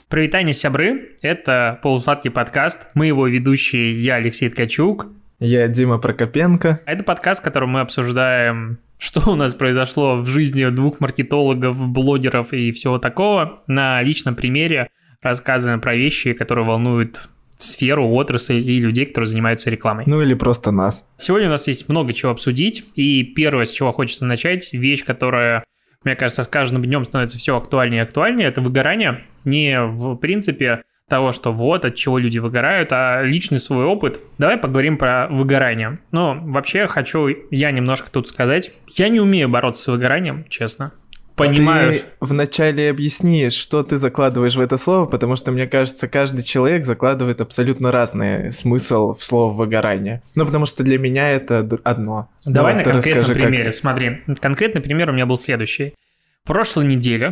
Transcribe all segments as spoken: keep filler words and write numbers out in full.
Привитание, сябры. Это полусладкий подкаст. Мы его ведущие, я Алексей Ткачук. Я Дима Прокопенко. Это подкаст, в котором мы обсуждаем, что у нас произошло в жизни двух маркетологов, блогеров и всего такого. На личном примере рассказываем про вещи, которые волнуют сферу, отрасль и людей, которые занимаются рекламой. Ну или просто нас. Сегодня у нас есть много чего обсудить. И первое, с чего хочется начать, вещь, которая, мне кажется, с каждым днем становится все актуальнее и актуальнее, это выгорание. Не в принципе того, что вот, от чего люди выгорают, а личный свой опыт. Давай поговорим про выгорание. Ну, вообще хочу я немножко тут сказать. Я не умею бороться с выгоранием, честно. Понимаю. Ты вначале объясни, что ты закладываешь в это слово, потому что, мне кажется, каждый человек закладывает абсолютно разный смысл в слово выгорание. Ну, потому что для меня это одно. Давай ну, на конкретном расскажи, примере. Как... Смотри, конкретный пример у меня был следующий. Прошлой неделе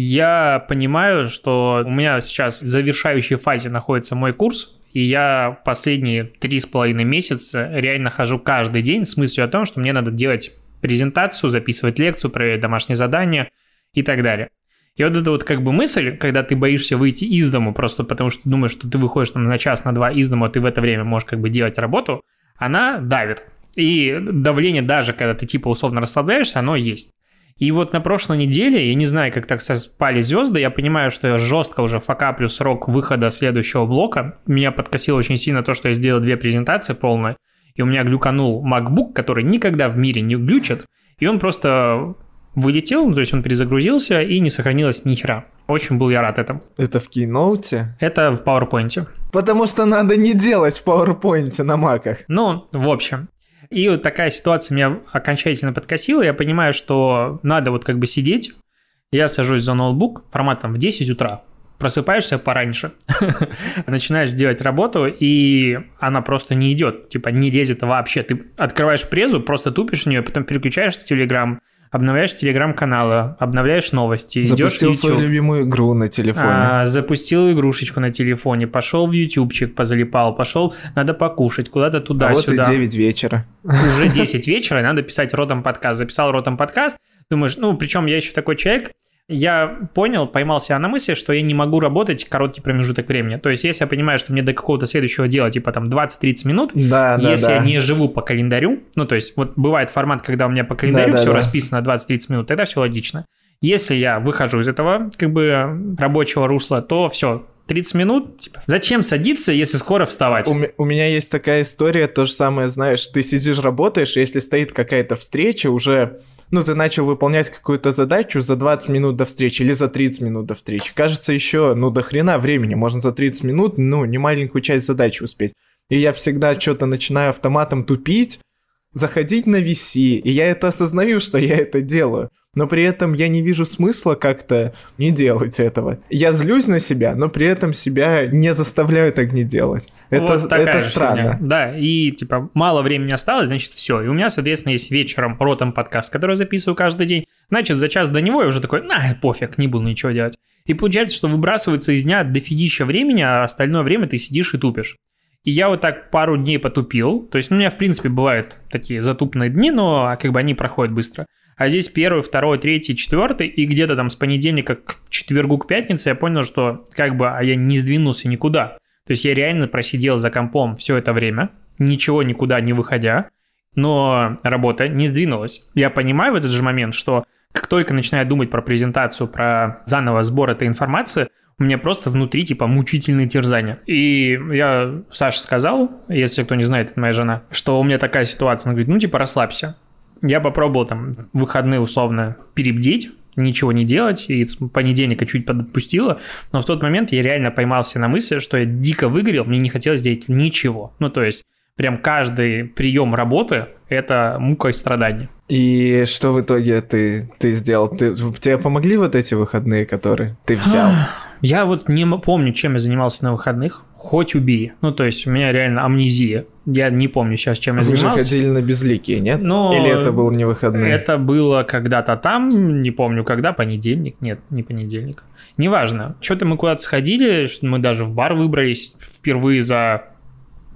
я понимаю, что у меня сейчас в завершающей фазе находится мой курс, и я последние три с половиной месяца реально хожу каждый день с мыслью о том, что мне надо делать презентацию, записывать лекцию, проверять домашние задания и так далее. И вот эта вот как бы мысль, когда ты боишься выйти из дому, просто потому что думаешь, что ты выходишь там на час, на два из дома, а ты в это время можешь как бы делать работу, она давит. И давление даже, когда ты типа условно расслабляешься, оно есть. И вот на прошлой неделе, я не знаю, как так совпали звезды, я понимаю, что я жестко уже факаплю срок выхода следующего блока. Меня подкосило очень сильно то, что я сделал две презентации полные, и у меня глюканул MacBook, который никогда в мире не глючит, и он просто вылетел, то есть он перезагрузился, и не сохранилось ни хера. Очень был я рад этому. Это в Keynote? Это в PowerPoint. Потому что надо не делать в PowerPoint на маках. Ну, в общем... И вот такая ситуация меня окончательно подкосила. Я понимаю, что надо вот как бы сидеть. Я сажусь за ноутбук форматом в десять утра. Просыпаешься пораньше. Начинаешь делать работу, и она просто не идет. Типа не лезет вообще. Ты открываешь презу, просто тупишь в нее, потом переключаешься в Telegram, обновляешь телеграм-каналы, обновляешь новости, запустил идешь в YouTube. свою любимую игру на телефоне. А, запустил игрушечку на телефоне, пошел в ютубчик, позалипал, пошел, надо покушать, куда-то туда-сюда. А вот и девять вечера. Уже десять вечера, и надо писать ротом подкаст. Записал ротом подкаст, думаешь, ну, причем я еще такой человек, я понял, поймал себя на мысли, что я не могу работать короткий промежуток времени. То есть, если я понимаю, что мне до какого-то следующего дела, типа там двадцать-тридцать минут, да, если да, я да. не живу по календарю, ну, то есть, вот бывает формат, когда у меня по календарю да, все да, расписано двадцать-тридцать минут, тогда все логично. Если я выхожу из этого, как бы, рабочего русла, то все, тридцать минут, типа, зачем садиться, если скоро вставать? У, у меня есть такая история, то же самое, знаешь, ты сидишь, работаешь, если стоит какая-то встреча, уже... Ну, ты начал выполнять какую-то задачу за двадцать минут до встречи или за тридцать минут до встречи. Кажется, еще, ну, до хрена времени. Можно за тридцать минут, ну, не маленькую часть задачи успеть. И я всегда что-то начинаю автоматом тупить, заходить на ви си, и я это осознаю, что я это делаю. Но при этом я не вижу смысла как-то не делать этого. Я злюсь на себя, но при этом себя не заставляю так не делать. Это, вот это странно. Фигня. Да, и типа мало времени осталось, значит, все. И у меня, соответственно, есть вечером ротом подкаст, который я записываю каждый день. Значит, за час до него я уже такой, на, пофиг, не буду ничего делать. И получается, что выбрасывается из дня дофигища времени, а остальное время ты сидишь и тупишь. И я вот так пару дней потупил. То есть, ну, у меня, в принципе, бывают такие затупные дни, но как бы они проходят быстро. А здесь первый, второй, третий, четвертый, и где-то там с понедельника к четвергу, к пятнице я понял, что как бы а я не сдвинулся никуда. То есть я реально просидел за компом все это время, ничего никуда не выходя, но работа не сдвинулась. Я понимаю в этот же момент, что как только начинаю думать про презентацию, про заново сбор этой информации, у меня просто внутри типа мучительные терзания. И я Саше сказал, если кто не знает, это моя жена, что у меня такая ситуация. Она говорит, ну типа расслабься. Я попробовал там выходные условно перебдеть, ничего не делать, и с понедельника чуть подотпустило, но в тот момент я реально поймался на мысли, что я дико выгорел, мне не хотелось делать ничего. Ну, то есть, прям каждый прием работы – это мука и страдание. И что в итоге ты, ты сделал? Ты, тебе помогли вот эти выходные, которые ты взял? Я вот не помню, чем я занимался на выходных. Хоть убей. Ну, то есть, у меня реально амнезия. Я не помню сейчас, чем я Вы занимался. Вы же ходили на безликие, нет? Но или это был не выходные? Это было когда-то там, не помню когда, понедельник. Нет, не понедельник. Неважно. Что-то мы куда-то сходили, мы даже в бар выбрались впервые за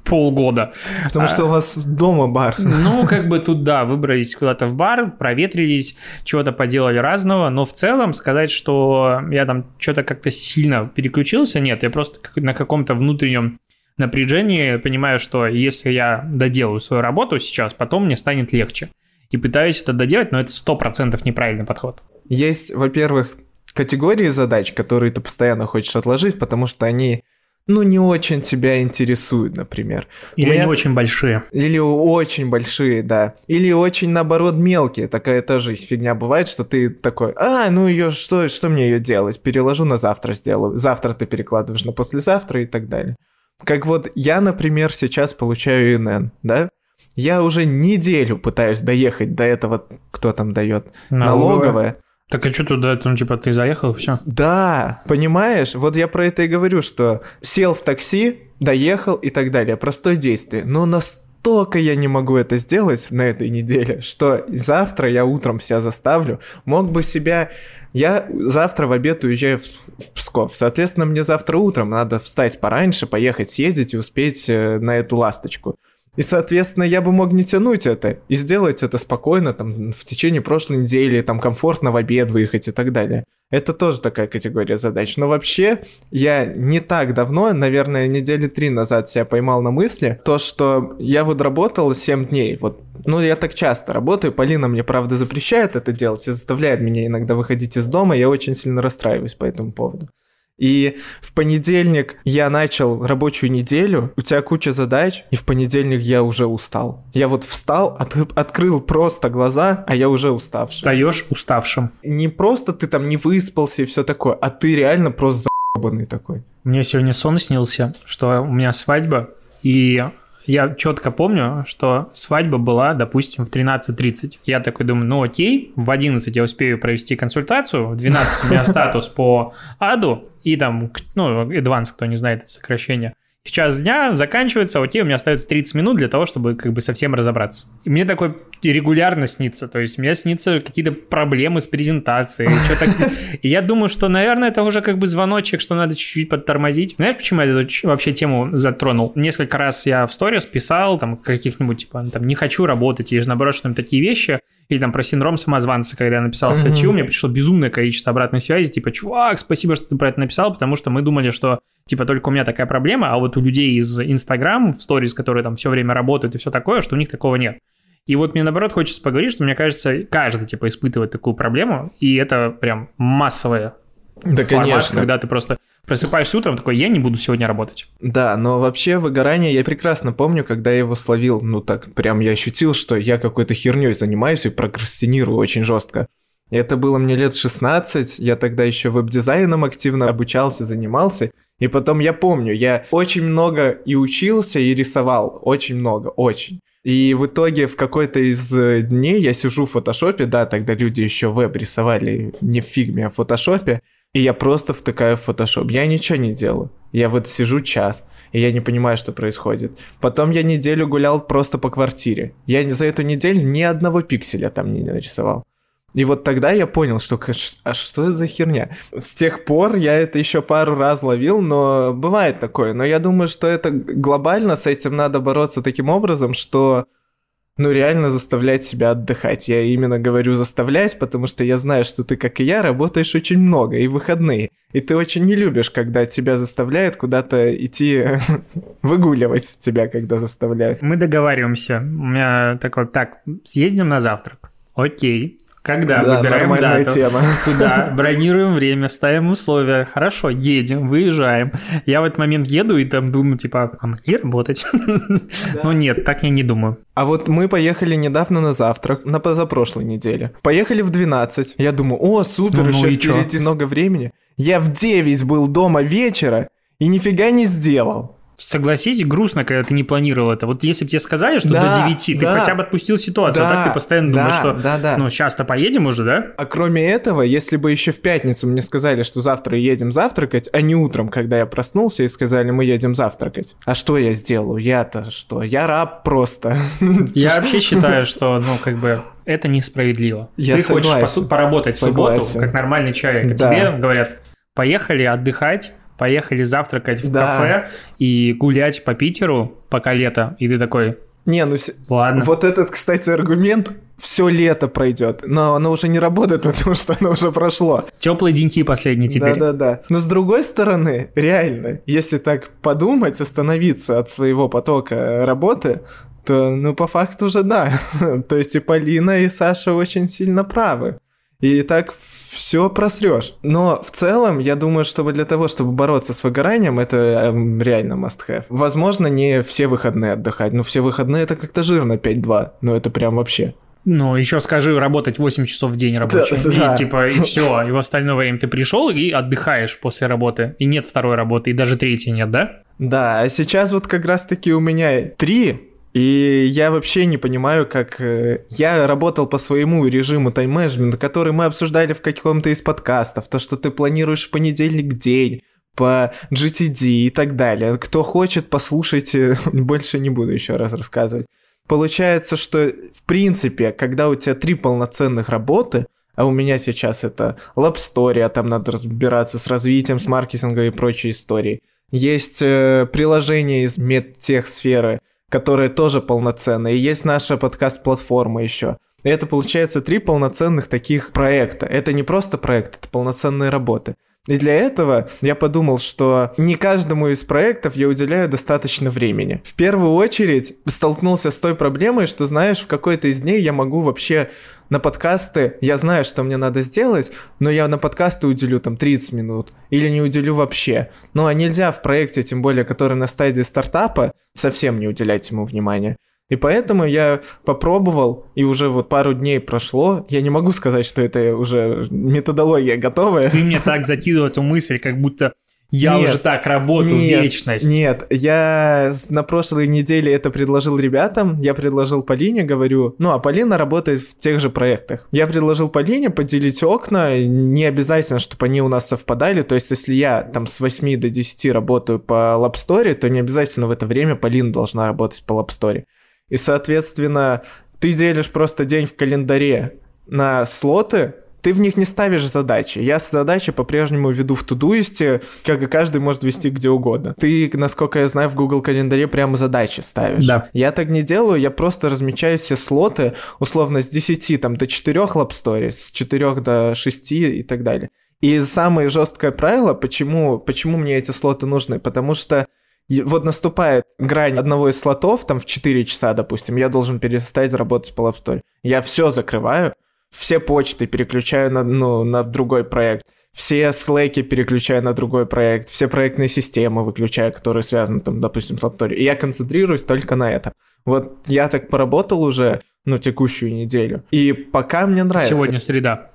полгода. Потому а, что у вас дома бар. Ну, как бы тут, да, выбрались куда-то в бар, проветрились, чего-то поделали разного, но в целом сказать, что я там что-то как-то сильно переключился, нет, я просто на каком-то внутреннем напряжении понимаю, что если я доделаю свою работу сейчас, потом мне станет легче. И пытаюсь это доделать, но это сто процентов неправильный подход. Есть, во-первых, категории задач, которые ты постоянно хочешь отложить, потому что они, ну, не очень тебя интересуют, например. Или меня... они очень большие. Или очень большие, да. Или очень, наоборот, мелкие. Такая тоже фигня бывает, что ты такой, а, ну ее что, что мне ее делать? Переложу на завтра сделаю. Завтра ты перекладываешь на послезавтра и так далее. Как вот я, например, сейчас получаю эн эн, да? Я уже неделю пытаюсь доехать до этого, кто там дает, налоговая. Так а что туда, ну, типа, ты заехал, и все? Да, понимаешь? Вот я про это и говорю, что сел в такси, доехал и так далее. Простое действие. Но настолько я не могу это сделать на этой неделе, что завтра я утром себя заставлю. Мог бы себя... Я завтра в обед уезжаю в Псков. Соответственно, мне завтра утром надо встать пораньше, поехать, съездить и успеть на эту ласточку. И, соответственно, я бы мог не тянуть это и сделать это спокойно, там, в течение прошлой недели, там, комфортно в обед выехать и так далее. Это тоже такая категория задач. Но вообще, я не так давно, наверное, недели три назад себя поймал на мысли, то, что я вот работал семь дней, вот, ну, я так часто работаю, Полина мне, правда, запрещает это делать и заставляет меня иногда выходить из дома, я очень сильно расстраиваюсь по этому поводу. И в понедельник я начал рабочую неделю, у тебя куча задач, и в понедельник я уже устал. Я вот встал, от, открыл просто глаза, а я уже уставший. Встаешь уставшим. Не просто ты там не выспался и все такое, а ты реально просто заебанный такой. Мне сегодня сон снился, что у меня свадьба, и... Я четко помню, что свадьба была, допустим, в тринадцать тридцать. Я такой думаю, ну окей, в одиннадцать я успею провести консультацию, в двенадцать у меня статус по аду, и там, ну, advance, кто не знает это сокращение. В час дня заканчивается, окей, у меня остается тридцать минут для того, чтобы как бы совсем разобраться. И мне такое регулярно снится, то есть мне снится какие-то проблемы с презентацией, что-то. И я думаю, что, наверное, это уже как бы звоночек, что надо чуть-чуть подтормозить. Знаешь, почему я эту вообще тему затронул? Несколько раз я в сторис писал, там, каких-нибудь, типа, там, не хочу работать, или же, наоборот, что там такие вещи, или там про синдром самозванца, когда я написал статью, mm-hmm. мне пришло безумное количество обратной связи, типа, чувак, спасибо, что ты про это написал, потому что мы думали, что, типа, только у меня такая проблема, а вот у людей из Инстаграм, в сторис, которые там все время работают и все такое, что у них такого нет. И вот мне, наоборот, хочется поговорить, что, мне кажется, каждый, типа, испытывает такую проблему, и это прям массовая да, формат, конечно. когда ты просто просыпаешься утром, такой, я не буду сегодня работать. Да, но вообще выгорание я прекрасно помню, когда я его словил, ну так прям я ощутил, что я какой-то херней занимаюсь и прокрастинирую очень жестко. И это было мне лет шестнадцать, я тогда еще веб-дизайном активно обучался, занимался. И потом я помню, я очень много и учился, и рисовал, очень много, очень. И в итоге в какой-то из дней я сижу в фотошопе, да, тогда люди еще веб рисовали не в фигме, а в фотошопе, и я просто втыкаю в фотошоп. Я ничего не делаю. Я вот сижу час, и я не понимаю, что происходит. Потом я неделю гулял просто по квартире. Я за эту неделю ни одного пикселя там не нарисовал. И вот тогда я понял, что а что это за херня? С тех пор я это еще пару раз ловил, но бывает такое. Но я думаю, что это глобально, с этим надо бороться таким образом, что ну реально заставлять себя отдыхать. Я именно говорю заставлять, потому что я знаю, что ты, как и я, работаешь очень много и в выходные. И ты очень не любишь, когда тебя заставляют куда-то идти выгуливать тебя, когда заставляют. Мы договариваемся. У меня такой, так, съездим на завтрак. Окей. Когда? Да, выбираем нормальная дату. тема. Куда? Бронируем время, ставим условия. Хорошо, едем, выезжаем. Я в этот момент еду и там думаю, типа, а мне работать? Ну нет, так я не думаю. А вот мы поехали недавно на завтрак, на позапрошлой неделе. Поехали в двенадцать. Я думаю, о, супер, ну, еще ну впереди много времени. Я в девять был дома вечера и нифига не сделал. Согласись, грустно, когда ты не планировал это. Вот если бы тебе сказали, что да, до девяти, да, ты хотя бы отпустил ситуацию, да, а так ты постоянно да, думаешь, что да, да. ну сейчас-то поедем уже, да? А кроме этого, если бы еще в пятницу мне сказали, что завтра едем завтракать, а не утром, когда я проснулся и сказали, мы едем завтракать. А что я сделаю? Я-то что? Я раб просто. Я вообще считаю, что, ну, как бы, это несправедливо. Я ты согласен. хочешь поработать в субботу, как нормальный человек, а тебе говорят, поехали отдыхать, поехали завтракать в Да. кафе и гулять по Питеру, пока лето, и ты такой, Не, ну с- ладно. вот этот, кстати, аргумент все лето пройдет, но оно уже не работает, потому что оно уже прошло. Теплые деньки последние теперь. Да-да-да. Но с другой стороны, реально, если так подумать, остановиться от своего потока работы, то, ну, по факту уже да. То есть и Полина, и Саша очень сильно правы. И так все просрешь. Но в целом, я думаю, чтобы для того, чтобы бороться с выгоранием, это эм, реально must-have. Возможно, не все выходные отдыхать, но все выходные это как-то жирно пять-два. Ну, это прям вообще. Ну, еще скажи, работать восемь часов в день рабочий. Да, да. И типа, и все. И в остальное время ты пришел и отдыхаешь после работы. И нет второй работы, и даже третьей нет, да? Да, а сейчас вот как раз-таки у меня три, и я вообще не понимаю, как... э, Я работал по своему режиму тайм-менеджмента, который мы обсуждали в каком-то из подкастов, то, что ты планируешь в понедельник день, по джи ти ди и так далее. Кто хочет, послушайте, больше не буду еще раз рассказывать. Получается, что в принципе, когда у тебя три полноценных работы, а у меня сейчас это лаб-стори, там надо разбираться с развитием, с маркетингом и прочей историей. Есть э, приложение из медтех-сферы, которые тоже полноценные. И есть наша подкаст-платформа еще. И это получается три полноценных таких проекта. Это не просто проект, это полноценные работы. И для этого я подумал, что не каждому из проектов я уделяю достаточно времени. В первую очередь столкнулся с той проблемой, что, знаешь, в какой-то из дней я могу вообще на подкасты, я знаю, что мне надо сделать, но я на подкасты уделю там тридцать минут или не уделю вообще. Ну а нельзя в проекте, тем более, который на стадии стартапа, совсем не уделять ему внимания. И поэтому я попробовал, и уже вот пару дней прошло. Я не могу сказать, что это уже методология готовая. Ты мне так закидывал эту мысль, как будто я Нет, уже так работаю нет, вечность. Нет, я с- на прошлой неделе это предложил ребятам, я предложил Полине, говорю, ну а Полина работает в тех же проектах. Я предложил Полине поделить окна, не обязательно, чтобы они у нас совпадали, то есть если я там с восьми до десяти работаю по лабстори, то не обязательно в это время Полина должна работать по лабстори. И, соответственно, ты делишь просто день в календаре на слоты, ты в них не ставишь задачи. Я задачи по-прежнему веду в Тудуисте, как и каждый может вести где угодно. Ты, насколько я знаю, в Google календаре прямо задачи ставишь. Да. Я так не делаю, я просто размечаю все слоты, условно, с десяти там, до четырёх лабстори, с четырёх до шести и так далее. И самое жесткое правило, почему, почему мне эти слоты нужны, потому что и вот наступает грань одного из слотов, там в четыре часа, допустим, я должен перестать работать по лабстори. Я все закрываю, все почты переключаю на, ну, на другой проект, все слэки переключаю на другой проект, все проектные системы выключаю, которые связаны, там, допустим, с лабстори. И я концентрируюсь только на этом. Вот я так поработал уже, ну, текущую неделю. И пока мне нравится... Сегодня среда.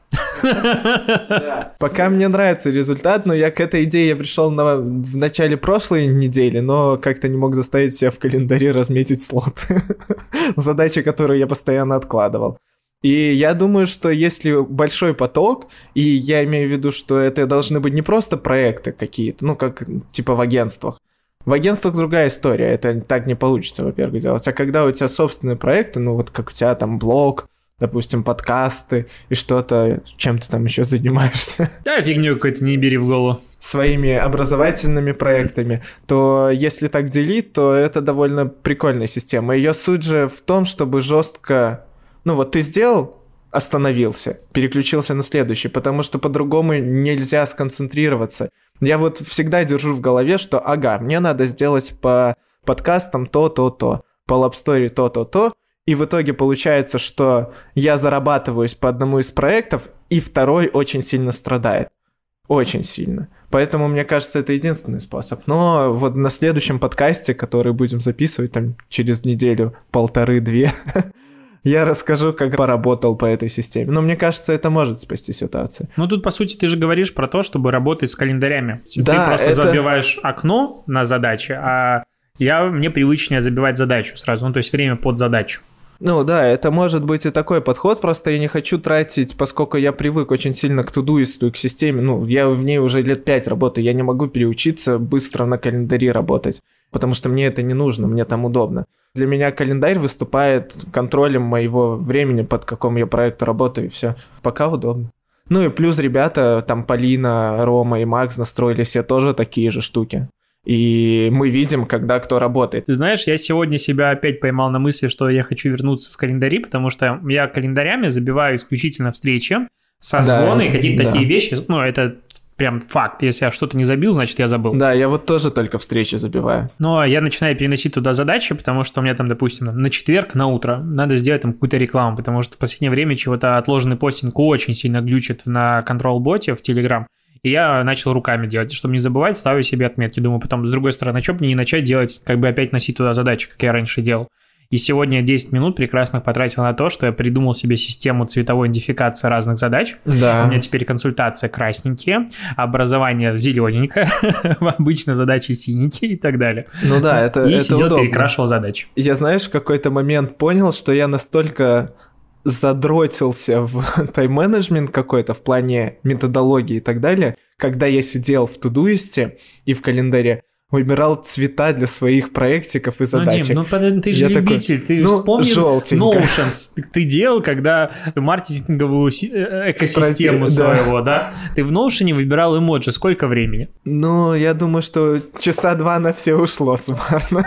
Да. Пока мне нравится результат, но я к этой идее я пришел на, в начале прошлой недели, но как-то не мог заставить себя в календаре разметить слот. Задачи, которые я постоянно откладывал. И я думаю, что если большой поток, и я имею в виду, что это должны быть не просто проекты какие-то, ну, как типа в агентствах. В агентствах другая история, это так не получится, во-первых, делать. А когда у тебя собственные проекты, ну, вот как у тебя там блог, допустим, подкасты и что-то, чем ты там еще занимаешься, Да, фигню какую-то не бери в голову. своими образовательными проектами, то если так делить, то это довольно прикольная система. Ее суть же в том, чтобы жестко... Ну вот ты сделал, остановился, переключился на следующий, потому что по-другому нельзя сконцентрироваться. Я вот всегда держу в голове, что ага, мне надо сделать по подкастам то-то-то, по лабстори то-то-то, и в итоге получается, что я зарабатываюсь по одному из проектов, и второй очень сильно страдает. Очень сильно. Поэтому, мне кажется, это единственный способ. Но вот на следующем подкасте, который будем записывать там через неделю, полторы-две, я расскажу, как поработал по этой системе. Но мне кажется, это может спасти ситуацию. Ну, тут, по сути, ты же говоришь про то, чтобы работать с календарями. Да, ты просто это- забиваешь окно на задачи, а я, мне привычнее забивать задачу сразу, ну, то есть время под задачу. Ну да, это может быть и такой подход, просто я не хочу тратить, поскольку я привык очень сильно к тудуисту и к системе, ну, я в ней уже лет пять работаю, я не могу переучиться быстро на календаре работать, потому что мне это не нужно, мне там удобно. Для меня календарь выступает контролем моего времени, под каком я проекту работаю, и все. Пока удобно. Ну и плюс ребята, там Полина, Рома и Макс настроили все тоже такие же штуки. И мы видим, когда кто работает. Ты знаешь, я сегодня себя опять поймал на мысли, что я хочу вернуться в календари, потому что я календарями забиваю исключительно встречи, созвоны, да, какие-то да. такие вещи. Ну, это прям факт. Если я что-то не забил, значит, я забыл. Да, я вот тоже только встречи забиваю. Но я начинаю переносить туда задачи, потому что у меня там, допустим, на четверг на утро надо сделать там какую-то рекламу, потому что в последнее время чего-то отложенный постинг очень сильно глючит на контрол-боте в Telegram. И я начал руками делать. Чтобы не забывать, ставлю себе отметки. Думаю, потом, с другой стороны, что бы мне не начать делать, как бы опять носить туда задачи, как я раньше делал. И сегодня десять минут прекрасных потратил на то, что я придумал себе систему цветовой идентификации разных задач. Да. У меня теперь консультация красненькие, образование зелененькое, обычно задачи синенькие и так далее. Ну да, это, и это сидел, удобно. перекрашивал задачи. Я, знаешь, в какой-то момент понял, что я настолько задротился в тайм-менеджмент какой-то в плане методологии и так далее, когда я сидел в Тудуисте и в календаре выбирал цвета для своих проектиков и задачек. Ну, Дим, ну ты же я любитель, такой, ты ну, вспомни Notion, ты делал, когда маркетинговую экосистему Страти... своего, да. да? Ты в Notion выбирал эмоджи, сколько времени? Ну, я думаю, что часа два на все ушло суммарно.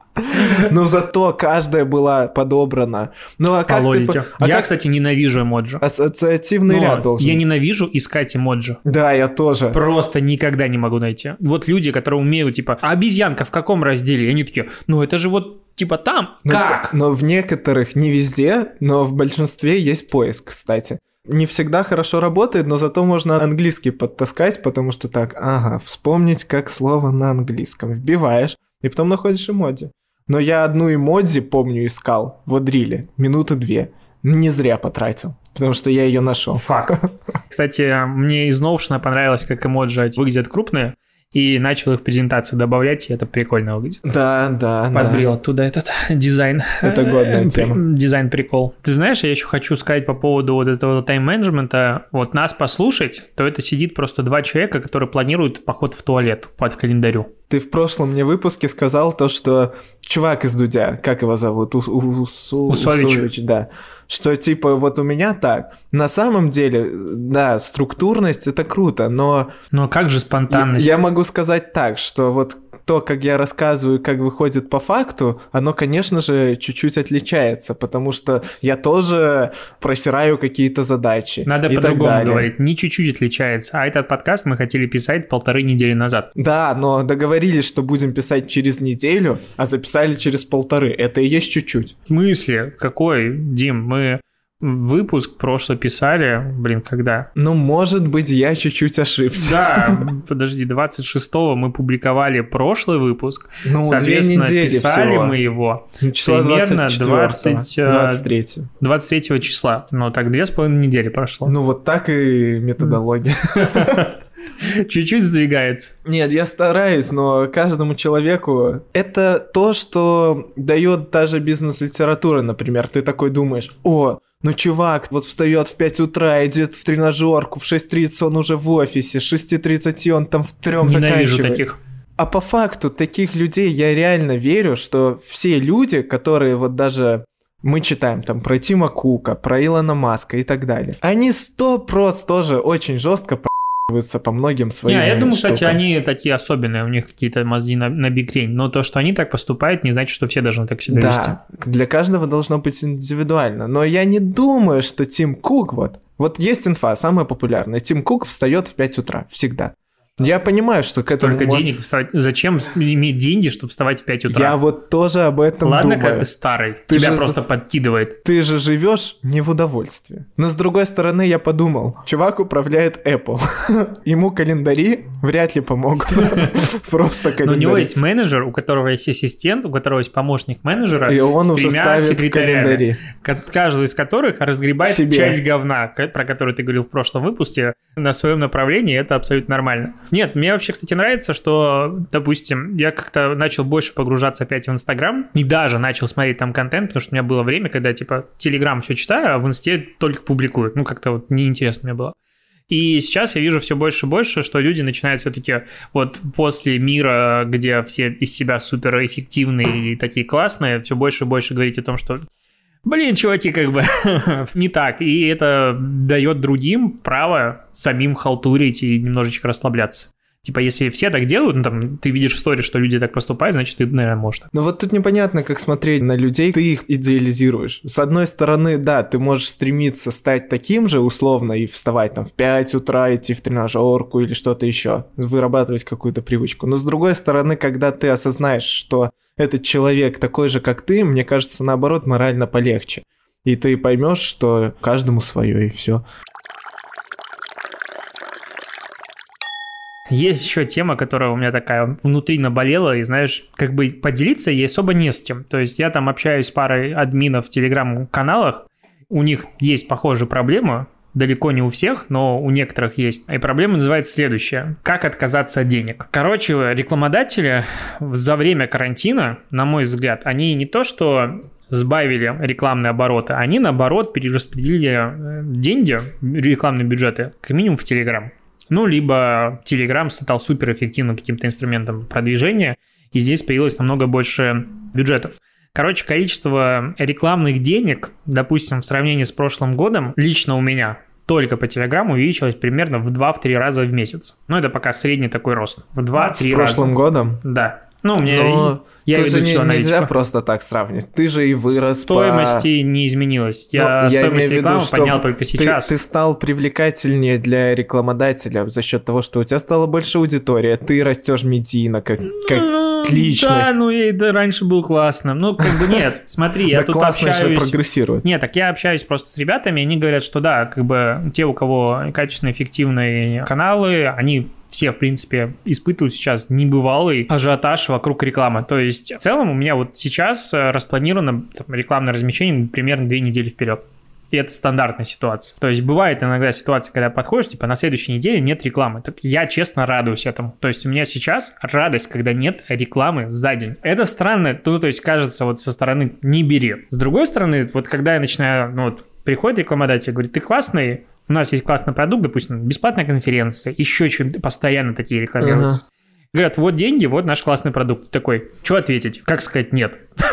Но зато каждая была подобрана. Ну, а как по логике. Ты... А я, как... кстати, ненавижу эмоджи. Ассоциативный Но ряд должен. Я ненавижу искать эмоджи. Да, я тоже. Просто никогда не могу найти. Вот люди, которые умеют, типа, а обезьянка в каком разделе? И они такие, ну это же вот типа там. Но, как? Но в некоторых, не везде, но в большинстве есть поиск, кстати. Не всегда хорошо работает, но зато можно английский подтаскать, потому что так, ага, вспомнить, как слово на английском. Вбиваешь, и потом находишь эмодзи. Но я одну эмодзи, помню, искал в Одриле минуты две. Не зря потратил, потому что я ее нашел. Факт. Кстати, мне из Notion понравилось, как эмоджи выглядят крупные, и начал их в презентации добавлять, и это прикольно выглядит. Да, да, Подбрил да. оттуда этот дизайн. Это годная тема. Дизайн-прикол. Ты знаешь, я еще хочу сказать по поводу вот этого тайм-менеджмента. Вот нас послушать, то это сидит просто два человека, которые планируют поход в туалет под календарю. Ты в прошлом мне выпуске сказал то, что чувак из Дудя, как его зовут? У, у, у, Усович. Усович, да. Что типа вот у меня так. На самом деле, да, структурность это круто, но... Но как же спонтанность? Я, я могу сказать так, что вот то, как я рассказываю, как выходит по факту, оно, конечно же, чуть-чуть отличается, потому что я тоже просираю какие-то задачи. Надо и по-другому так далее. говорить, не чуть-чуть отличается. А этот подкаст мы хотели писать полторы недели назад. Да, но договорились, что будем писать через неделю, а записали через полторы. Это и есть чуть-чуть. В смысле? Какой, Дим? Мы выпуск прошлый писали, блин, когда? Ну, может быть, я чуть-чуть ошибся. Да, подожди, двадцать шестого мы публиковали прошлый выпуск. Ну, соответственно, две недели писали всего. мы его числа примерно двадцать, двадцать третьего. двадцать третьего числа. Ну, так две с половиной недели прошло. Ну, вот так и методология. Чуть-чуть сдвигается. Нет, я стараюсь, но каждому человеку это то, что дает даже бизнес-литература, например. Ты такой думаешь, о, ну чувак вот встает в пять утра, идет в тренажерку, в шесть тридцать он уже в офисе, с шесть тридцать он там в трём заканчивает. Ненавижу таких. А по факту таких людей я реально верю, что все люди, которые вот даже... Мы читаем там про Тима Кука, про Илона Маска и так далее. Они сто процентов тоже очень жестко по многим своим Не, я думаю, штукам. кстати, они такие особенные, у них какие-то мозги на, на бикрень, но то, что они так поступают, не значит, что все должны так себя вести. Да, для каждого должно быть индивидуально, но я не думаю, что Тим Кук, вот, вот есть инфа, самая популярная, Тим Кук встает в пять утра, всегда. Я понимаю, что к этому... Столько денег вставать. Зачем иметь деньги, чтобы вставать в пять утра? Я вот тоже об этом Ладно, думаю. как бы старый. Ты Тебя же... просто подкидывает. Ты же живешь не в удовольствии. Но с другой стороны, я подумал, чувак управляет Apple. Ему календари вряд ли помогут. Просто календари. Но у него есть менеджер, у которого есть ассистент, у которого есть помощник менеджера. И он уже ставит в календари. Каждый из которых разгребает Себе. часть говна, про которую ты говорил в прошлом выпуске, на своем направлении. Это абсолютно нормально. Нет, мне вообще, кстати, нравится, что, допустим, я как-то начал больше погружаться опять в Инстаграм и даже начал смотреть там контент, потому что у меня было время, когда, типа, Телеграм все читаю, а в Инсте только публикуют. Ну, как-то вот неинтересно мне было. И сейчас я вижу все больше и больше, что люди начинают все-таки вот после мира, где все из себя суперэффективные и такие классные, все больше и больше говорить о том, что Блин, чуваки, как бы не так. И это дает другим право самим халтурить и немножечко расслабляться. Типа, если все так делают, ну, там, ты видишь в истории, что люди так поступают, значит, ты, наверное, можешь. Ну, вот тут непонятно, как смотреть на людей, ты их идеализируешь. С одной стороны, да, ты можешь стремиться стать таким же, условно, и вставать там в пять утра, идти в тренажерку или что-то еще, вырабатывать какую-то привычку. Но с другой стороны, когда ты осознаешь, что этот человек такой же, как ты, мне кажется, наоборот, морально полегче. И ты поймешь, что каждому свое, и все. Есть еще тема, которая у меня такая внутри наболела, и, знаешь, как бы поделиться ей особо не с кем. То есть я там общаюсь с парой админов в телеграм-каналах, у них есть похожая проблема, далеко не у всех, но у некоторых есть. И проблема называется следующая. Как отказаться от денег? Короче, рекламодатели за время карантина, на мой взгляд, они не то что сбавили рекламные обороты, они, наоборот, перераспределили деньги, рекламные бюджеты, как минимум в Телеграм. Ну, либо Telegram стал суперэффективным каким-то инструментом продвижения, и здесь появилось намного больше бюджетов. Короче, количество рекламных денег, допустим, в сравнении с прошлым годом, лично у меня только по Telegram увеличилось примерно в два-три раза в месяц. Ну, это пока средний такой рост. В два-три раза. С прошлым годом? Да. Ну, у меня... Но... Я Тут веду же всю не, аналитику. Нельзя просто так сравнивать. Ты же и вырос Стоимости по... не изменилось. Я, я стоимость рекламы виду, поднял только сейчас. Ты, ты стал привлекательнее для рекламодателя за счет того, что у тебя стала больше аудитория, ты растешь медийно, как, как ну, личность. Да, ну и да, раньше был классно. Ну, как бы нет, смотри, я да тут классно общаюсь... же прогрессирует. Нет, так я общаюсь просто с ребятами, они говорят, что да, как бы те, у кого качественные, эффективные каналы, они... все, в принципе, испытывают сейчас небывалый ажиотаж вокруг рекламы. То есть, в целом, у меня вот сейчас распланировано там, рекламное размещение примерно две недели вперед. И это стандартная ситуация. То есть, бывает иногда ситуация, когда подходишь, типа, на следующей неделе нет рекламы. Так я, честно, радуюсь этому. То есть, у меня сейчас радость, когда нет рекламы за день. Это странно, то, то есть, кажется, вот со стороны «не бери». С другой стороны, вот когда я начинаю, ну вот, приходит рекламодатель, говорит, ты классный, у нас есть классный продукт, допустим, бесплатная конференция, еще что-нибудь, постоянно такие рекламируются. Uh-huh. Говорят, вот деньги, вот наш классный продукт. Такой, что ответить? Как сказать нет?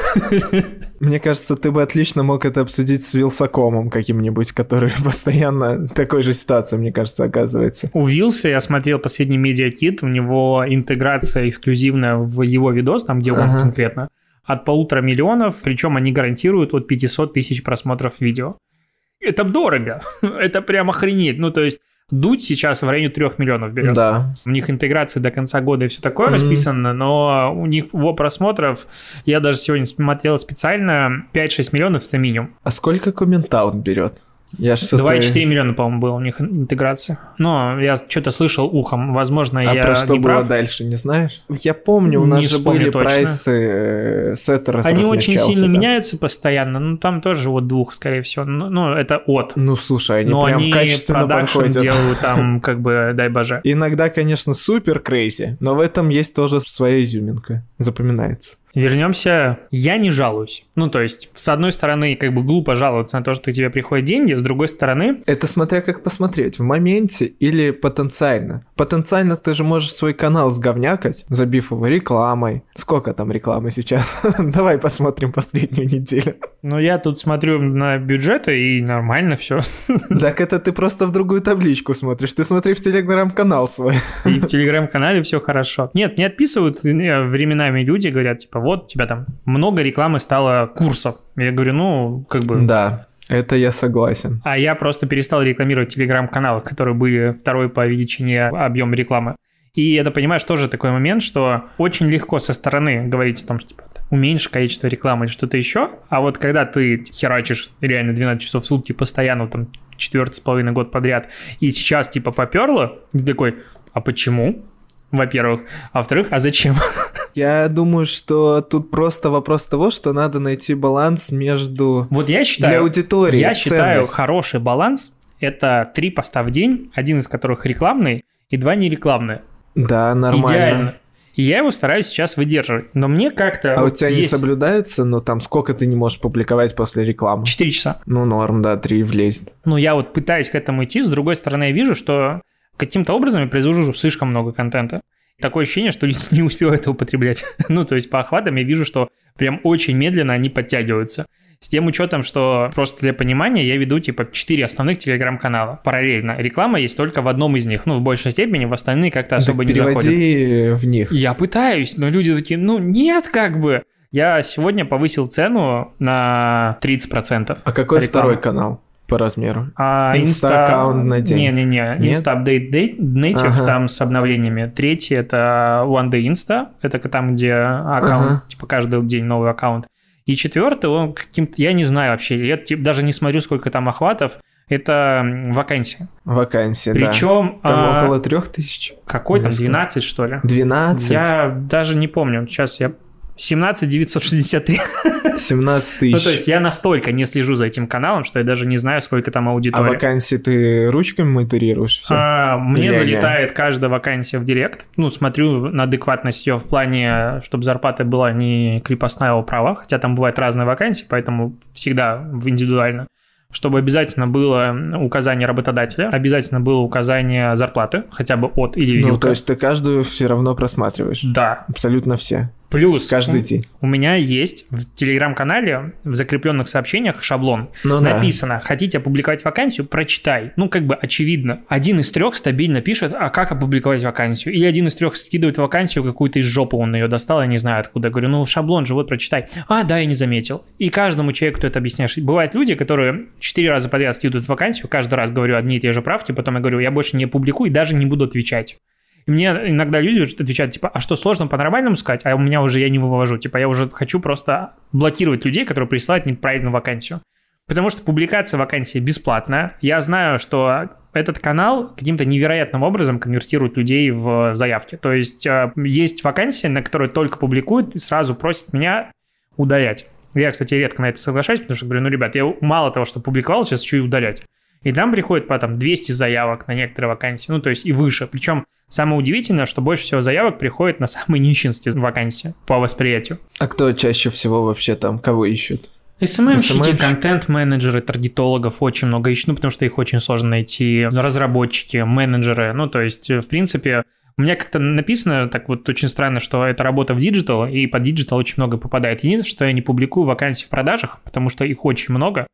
Мне кажется, ты бы отлично мог это обсудить с Вилсакомом каким-нибудь, который постоянно в такой же ситуации, мне кажется, оказывается. У Вилса я смотрел последний медиакит, у него интеграция эксклюзивная в его видос, там где он uh-huh. конкретно, от полутора миллионов, причем они гарантируют от пятьсот тысяч просмотров видео. Это дорого, это прям охренеть. Ну, то есть, Дудь сейчас в районе трех миллионов берет. Да. У них интеграция до конца года и все такое mm-hmm. расписано, но у них его просмотров, я даже сегодня смотрел специально, пять-шесть миллионов это минимум. А сколько Комментаут берет? Я два и четыре миллиона, по-моему, было у них интеграция. Но я что-то слышал ухом, возможно, а я про что не было прав. Дальше, не знаешь? Я помню, у нас не же были точно. прайсы, сеттер Они очень сильно да. меняются постоянно, ну там тоже от двух, скорее всего. Ну, ну это от. Ну, слушай, они но прям они качественно подходят. делают там, как бы, дай боже. Иногда, конечно, супер крейзи, но в этом есть тоже своя изюминка, запоминается. Вернемся. Я не жалуюсь. Ну, то есть, с одной стороны, как бы глупо жаловаться на то, что к тебе приходят деньги, с другой стороны... Это смотря как посмотреть, в моменте или потенциально. Потенциально ты же можешь свой канал сговнякать, забив его рекламой. Сколько там рекламы сейчас? Давай посмотрим последнюю неделю. Ну, я тут смотрю на бюджеты, и нормально все. Так это ты просто в другую табличку смотришь. Ты смотри в телеграм-канал свой. И в телеграм-канале все хорошо. Нет, не отписывают временами люди, говорят, типа, вот у тебя там много рекламы стало курсов. Я говорю, ну, как бы... Да, это я согласен. А я просто перестал рекламировать телеграм-каналы, которые были второй по величине объема рекламы. И это, понимаешь, тоже такой момент, что очень легко со стороны говорить о том, что типа, уменьши количество рекламы или что-то еще, а вот когда ты херачишь реально двенадцать часов в сутки постоянно, там, четвертый с половиной год подряд, и сейчас типа поперло, ты такой, а почему? Во-первых. А во-вторых, а зачем? Я думаю, что тут просто вопрос того, что надо найти баланс между... Вот я считаю... Для аудитории Я ценность. считаю, хороший баланс – это три поста в день, один из которых рекламный и два нерекламные. Да, нормально. Идеально. И я его стараюсь сейчас выдерживать. Но мне как-то... А вот у тебя есть... не соблюдается? Ну, там, сколько ты не можешь публиковать после рекламы? Четыре часа. Ну, норм, да, три влезет. Ну, я вот пытаюсь к этому идти. С другой стороны, я вижу, что каким-то образом я произвожу слишком много контента. Такое ощущение, что не успеваю это употреблять. Ну, то есть по охватам я вижу, что прям очень медленно они подтягиваются. С тем учетом, что просто для понимания я веду типа четыре основных телеграм-канала параллельно. Реклама есть только в одном из них. Ну, в большей степени, в остальные как-то особо так не заходят. переводи в них. Я пытаюсь, но люди такие, ну нет, как бы. Я сегодня повысил цену на тридцать процентов. А какой рекламы. Второй канал по размеру? А, Инста-аккаунт на день? Не-не-не, Insta Update Native, ага. Там с обновлениями. Третий – это One Day Insta, это там, где аккаунт, ага. типа каждый день новый аккаунт. И четвертый, он каким-то, я не знаю вообще, я типа, даже не смотрю, сколько там охватов, это вакансии. Вакансии, Причем, да. Там а, около трех тысяч. Какой там, двенадцать, что ли? двенадцать? Я даже не помню, сейчас я... семнадцать девятьсот шестьдесят три. семнадцать тысяч. Ну, то есть я настолько не слежу за этим каналом, что я даже не знаю, сколько там аудитория. А вакансии ты ручками модерируешь все? А, мне Или залетает не? Каждая вакансия в директ. Ну, смотрю на адекватность ее в плане, чтобы зарплата была не крепостная управа, хотя там бывают разные вакансии, поэтому всегда индивидуально. Чтобы обязательно было указание работодателя, обязательно было указание зарплаты, хотя бы от или вилка. Ну, то есть ты каждую все равно просматриваешь? Да. Абсолютно все? Плюс каждый день. У меня есть в телеграм-канале в закрепленных сообщениях шаблон. Ну, написано: да. хотите опубликовать вакансию, прочитай. Ну, как бы очевидно. Один из трех стабильно пишет, а как опубликовать вакансию? Или один из трех скидывает вакансию какую-то из жопы, он ее достал, я не знаю откуда. Я говорю, ну, шаблон же, вот прочитай. А, да, я не заметил. И каждому человеку ты это объясняешь. Бывают люди, которые четыре раза подряд скидывают вакансию, каждый раз говорю одни и те же правки, потом я говорю, я больше не публикую и даже не буду отвечать. И мне иногда люди отвечают, типа, а что, сложно по-нормальному сказать? А у меня уже я не вывожу. Типа, я уже хочу просто блокировать людей, которые присылают неправильную вакансию. Потому что публикация вакансии бесплатная. Я знаю, что этот канал каким-то невероятным образом конвертирует людей в заявки. То есть, есть вакансии, на которые только публикуют и сразу просят меня удалять. Я, кстати, редко на это соглашаюсь, потому что говорю, ну, ребят, я мало того, что публиковал, сейчас еще и удалять. И там приходит потом двести заявок на некоторые вакансии, ну, то есть и выше. Причем самое удивительное, что больше всего заявок приходит на самые нищенские вакансии по восприятию. А кто чаще всего вообще там, кого ищут? эс эм эм-щики, контент-менеджеры, таргетологов очень много ищут, ну, потому что их очень сложно найти. Разработчики, менеджеры, ну, то есть, в принципе... У меня как-то написано так вот очень странно, что это работа в диджитал, и под диджитал очень много попадает. Единственное, что я не публикую вакансии в продажах, потому что их очень много,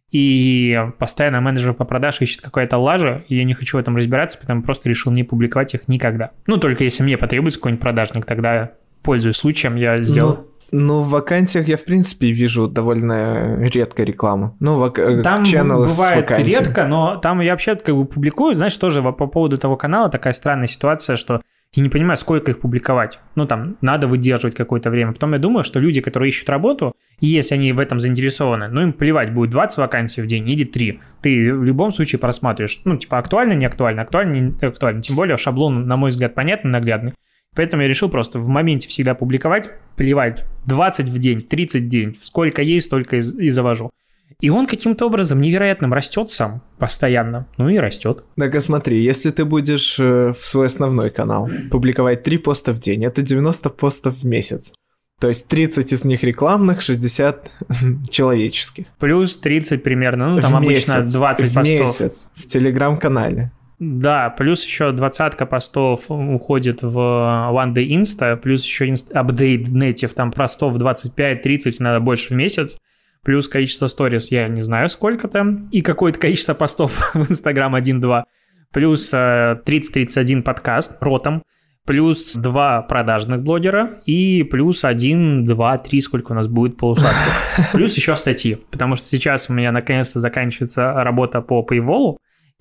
и постоянно менеджер по продажам ищет какая-то лажа, и я не хочу в этом разбираться, поэтому просто решил не публиковать их никогда. Ну, только если мне потребуется какой-нибудь продажник, тогда, пользуясь случаем, я сделаю. Ну, ну в вакансиях я, в принципе, вижу довольно редко рекламу. Ну, вак... там channel бывает редко, но там я вообще как бы публикую, знаешь, тоже по поводу того канала такая странная ситуация, что я не понимаю, сколько их публиковать. Ну, там, надо выдерживать какое-то время. Потом я думаю, что люди, которые ищут работу, и если они в этом заинтересованы, ну, им плевать, будет двадцать вакансий в день или три. Ты в любом случае просматриваешь. Ну, типа, актуально, не актуально, актуально, не актуально. Тем более, шаблон, на мой взгляд, понятный, наглядный. Поэтому я решил просто в моменте всегда публиковать, плевать, двадцать в день, тридцать в день, сколько есть, столько и завожу. И он каким-то образом невероятным растет сам постоянно, ну и растет. Так, а смотри, если ты будешь в свой основной канал публиковать три поста в день, это девяносто постов в месяц. То есть тридцать из них рекламных, шестьдесят человеческих. Плюс тридцать примерно, ну там в обычно месяц, двадцать в постов. В месяц, в телеграм-канале. Да, плюс еще двадцатка постов уходит в One Day Insta, плюс еще Update Native, там постов двадцать пять тридцать, надо больше в месяц. Плюс количество сторис, я не знаю сколько там, и какое-то количество постов в Instagram один-два. Плюс тридцать тридцать один подкаст ротом, плюс два продажных блогера и плюс один, два, три, сколько у нас будет полусладких. Плюс еще статьи, потому что сейчас у меня наконец-то заканчивается работа по Paywall,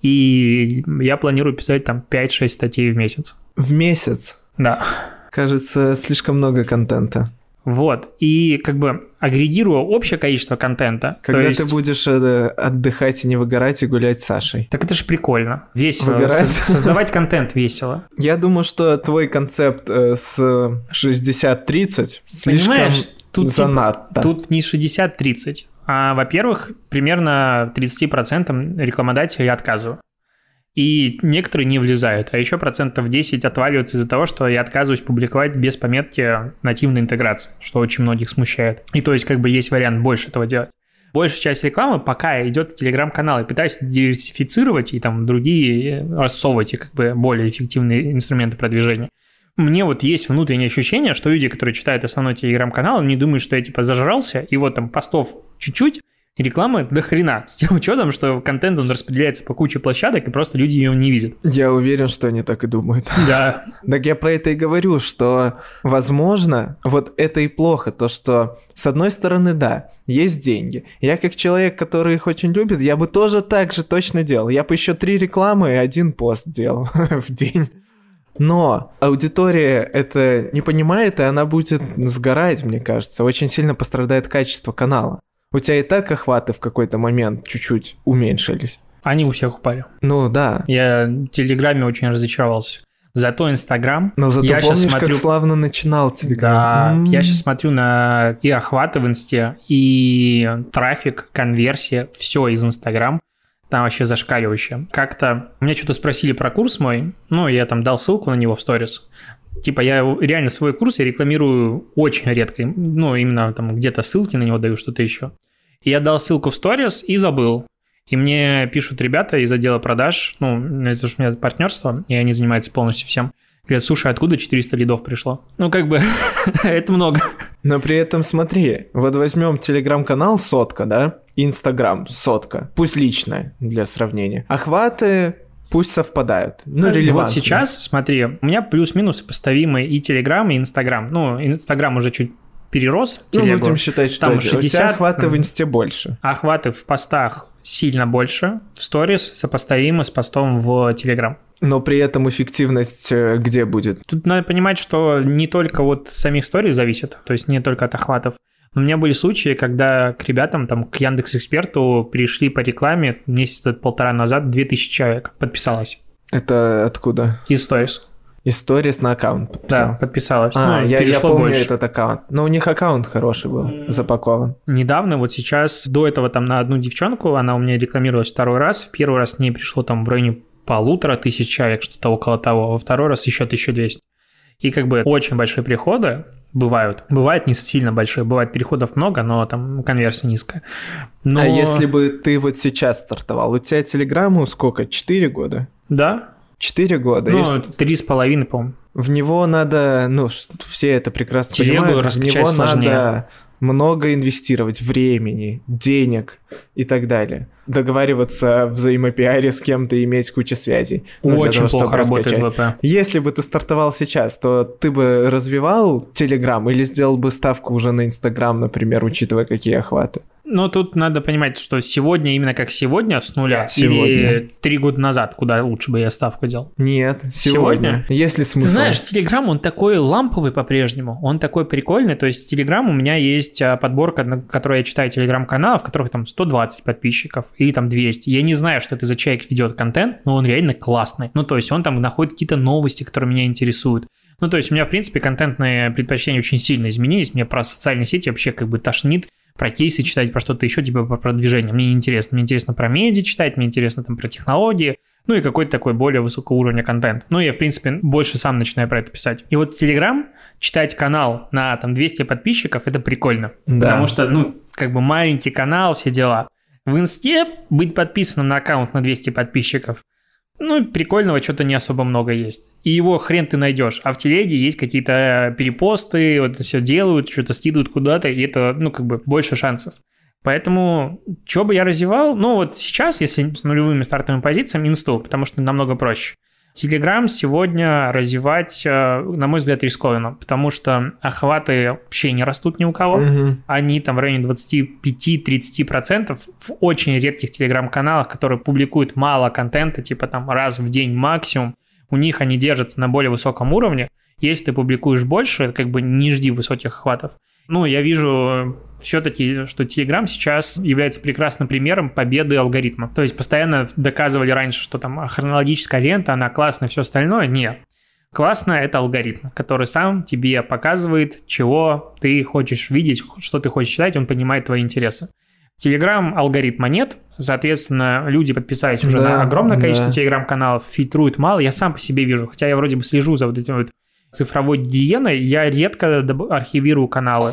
и я планирую писать там пять-шесть статей в месяц. В месяц? Да. Кажется, слишком много контента. Вот, и как бы агрегируя общее количество контента. Когда есть... ты будешь э, отдыхать и не выгорать, и гулять с Сашей. Так это же прикольно, весело. Выгорать? Создавать контент весело. Я думаю, что твой концепт э, с шестьдесят тридцать слишком тут, занадто. Тут не шестьдесят тридцать, а, во-первых, примерно тридцать процентов рекламодателей я отказываю. И некоторые не влезают, а еще процентов десять отваливаются из-за того, что я отказываюсь публиковать без пометки нативной интеграции, что очень многих смущает. И то есть как бы есть вариант больше этого делать. Большая часть рекламы пока идет в телеграм-канал, и пытаюсь диверсифицировать и там другие рассовывать и как бы более эффективные инструменты продвижения. Мне вот есть внутреннее ощущение, что люди, которые читают основной телеграм-канал, они думают, что я типа зажрался, и вот там постов чуть-чуть, и рекламы до хрена. С тем учетом, что контент, он распределяется по куче площадок, и просто люди ее не видят. Я уверен, что они так и думают. Да. Так я про это и говорю, что, возможно, вот это и плохо, то, что, с одной стороны, да, есть деньги. Я как человек, который их очень любит, я бы тоже так же точно делал. Я бы еще три рекламы и один пост делал в день. Но аудитория это не понимает, и она будет сгорать, мне кажется. Очень сильно пострадает качество канала. У тебя и так охваты в какой-то момент чуть-чуть уменьшились. Они у всех упали. Ну да. Я в Телеграме очень разочаровался. Зато Инстаграм... Но зато я помнишь, смотрю... как славно начинал Телеграм? Да, м-м-м. я сейчас смотрю на и охваты в Инсте, и трафик, конверсия, все из Инстаграм. Там вообще зашкаливающе. Как-то меня что-то спросили про курс мой, ну, я там дал ссылку на него в сторис. Типа я реально свой курс я рекламирую очень редко, ну, именно там где-то ссылки на него даю, что-то еще. И я дал ссылку в сторис и забыл. И мне пишут ребята из отдела продаж, ну, это же у меня партнерство, и они занимаются полностью всем. Говорят, слушай, откуда четыреста лидов пришло? Ну, как бы, это много. Но при этом смотри, вот возьмем телеграм-канал сотка, да, Инстаграм сотка, пусть личная для сравнения. Охваты пусть совпадают, ну, релевантно. Вот сейчас, смотри, у меня плюс-минус сопоставимые и Телеграм, и Инстаграм. Ну, Инстаграм уже чуть перерос. Ну, телегу. будем считать, что там шестьдесят, у тебя охваты в Инсте больше. Охваты в постах сильно больше, в сторис сопоставимы с постом в Телеграм. Но при этом эффективность где будет? Тут надо понимать, что не только от самих сторис зависит, то есть не только от охватов. Но у меня были случаи, когда к ребятам, там, к Яндекс.Эксперту пришли по рекламе месяца полтора назад две тысячи человек подписалось. Это откуда? Из сторис. Из сторис на аккаунт подписалось? Да, подписалось. А, ну, я, я помню больше. этот аккаунт. Но у них аккаунт хороший был, mm. запакован. Недавно, вот сейчас, до этого там на одну девчонку, она у меня рекламировалась второй раз. В первый раз к ней пришло там в районе полутора тысяч человек, что-то около того. Во второй раз еще тысяча двести. И как бы очень большие приходы бывают. Бывает не сильно большие, бывает переходов много, но там конверсия низкая. Но... А если бы ты вот сейчас стартовал, у тебя Телеграмму сколько? Четыре года? Да. Четыре года? Ну, если... три с половиной, по-моему. В него надо, ну, все это прекрасно Телегу понимают, в него сложнее. надо много инвестировать времени, денег и так далее. Договариваться в взаимопиаре с кем-то, иметь кучу связей. Ну, очень того, плохо работает ВП. Если бы ты стартовал сейчас, то ты бы развивал Телеграм или сделал бы ставку уже на Инстаграм, например, учитывая какие охваты? Но тут надо понимать, что сегодня, именно как сегодня, с нуля, сегодня. Или три года назад, куда лучше бы я ставку делал? Нет, сегодня. сегодня? Есть ли смысл? Ты знаешь, Телеграм, он такой ламповый по-прежнему, он такой прикольный, то есть Телеграм у меня есть подборка, на которой я читаю Телеграм-каналов, в которых там сто двадцать подписчиков или там двести. Я не знаю, что это за человек ведет контент, но он реально классный. Ну, то есть он там находит какие-то новости, которые меня интересуют. Ну, то есть у меня, в принципе, контентные предпочтения очень сильно изменились. Мне про социальные сети вообще как бы тошнит, про кейсы читать, про что-то еще, типа про продвижение. Мне не интересно. Мне интересно про медиа читать, мне интересно там про технологии, ну и какой-то такой более высокого уровня контент. Ну, я, в принципе, больше сам начинаю про это писать. И вот Telegram, читать канал на там двести подписчиков, это прикольно. Да. Потому что, ну, как бы маленький канал, все дела. В Инсте быть подписанным на аккаунт на двести подписчиков, ну, прикольного что-то не особо много есть. И его хрен ты найдешь. А в телеге есть какие-то перепосты, вот это все делают, что-то скидывают куда-то, и это, ну, как бы больше шансов. Поэтому, что бы я развивал? Ну, вот сейчас, если с нулевыми стартовыми позициями, инсту, потому что намного проще. Телеграм сегодня развивать, на мой взгляд, рискованно, потому что охваты вообще не растут ни у кого. Угу. Они там в районе двадцать пять - тридцать процентов в очень редких телеграм-каналах, которые публикуют мало контента, типа там раз в день максимум. У них они держатся на более высоком уровне. Если ты публикуешь больше, как бы не жди высоких охватов. Ну, я вижу все-таки, что Telegram сейчас является прекрасным примером победы алгоритма. То есть постоянно доказывали раньше, что там хронологическая лента, она классная, все остальное. Нет. Классно — это алгоритм, который сам тебе показывает, чего ты хочешь видеть, что ты хочешь читать, он понимает твои интересы. В Telegram алгоритма нет, соответственно, люди, подписались уже да, на огромное количество да. телеграм-каналов, фильтруют мало. Я сам по себе вижу, хотя я вроде бы слежу за вот этим вот цифровой гигиеной, я редко архивирую каналы.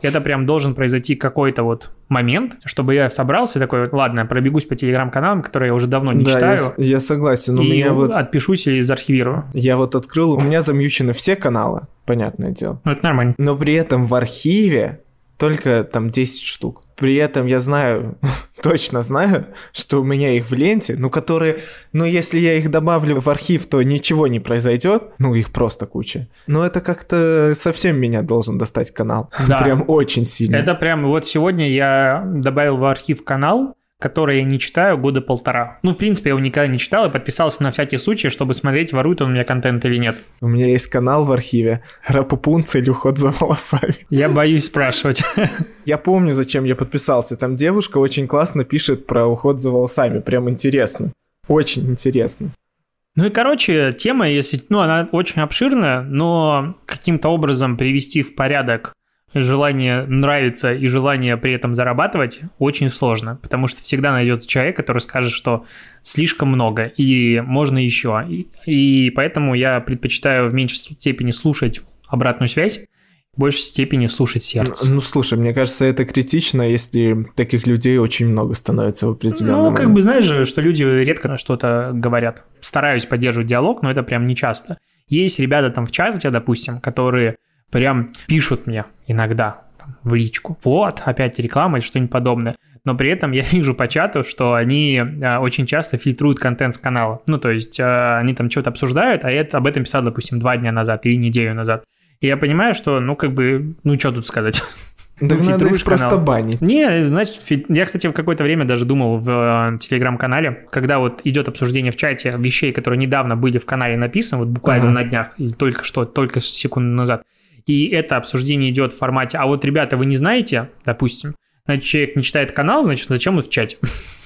это прям должен произойти какой-то вот момент, чтобы я собрался и такой, ладно, пробегусь по телеграм-каналам, которые я уже давно не да, читаю. Я, я согласен. У и меня вот... отпишусь или зархивирую. Я вот открыл, у меня замьючены все каналы, понятное дело. Ну, это нормально. Но при этом в архиве только там десять штук. При этом я знаю, точно знаю, что у меня их в ленте, ну, которые, ну, если я их добавлю в архив, то ничего не произойдет. Ну, их просто куча. Но это как-то совсем меня должен достать канал. Да. Прям очень сильно. Это прям, вот сегодня я добавил в архив канал, который я не читаю года полтора. Ну, в принципе, я его никогда не читал и подписался на всякий случай, чтобы смотреть, ворует он у меня контент или нет. У меня есть канал в архиве Рапупунца или уход за волосами. Я боюсь спрашивать. Я помню, зачем я подписался. Там девушка очень классно пишет про уход за волосами. Прям интересно. Очень интересно. Ну и, короче, тема, если, ну, она очень обширная, но каким-то образом привести в порядок желание нравится и желание при этом зарабатывать очень сложно, потому что всегда найдется человек, который скажет, что слишком много и можно еще. И, и поэтому я предпочитаю в меньшей степени слушать обратную связь, в большей степени слушать сердце. Ну, ну, слушай, мне кажется, это критично, если таких людей очень много становится в определенном Ну, момент. как бы, знаешь же, что люди редко что-то говорят. Стараюсь поддерживать диалог, но это прям не часто. Есть ребята там в чате, допустим, которые прям пишут мне иногда там, в личку. Вот, опять реклама или что-нибудь подобное. Но при этом я вижу по чату, что они а, очень часто фильтруют контент с канала. Ну, то есть а, они там что-то обсуждают, а я об этом писал, допустим, два дня назад или неделю назад. И я понимаю, что, ну, как бы, ну, что тут сказать? Да ну, надо их просто канал. банить. Не, значит, я, кстати, в какое-то время даже думал в э, телеграм-канале, когда вот идет обсуждение в чате вещей, которые недавно были в канале написаны, вот буквально ага. на днях, или только что, только секунду назад, и это обсуждение идет в формате, а вот, ребята, вы не знаете, допустим, значит, человек не читает канал, значит, зачем он в чате?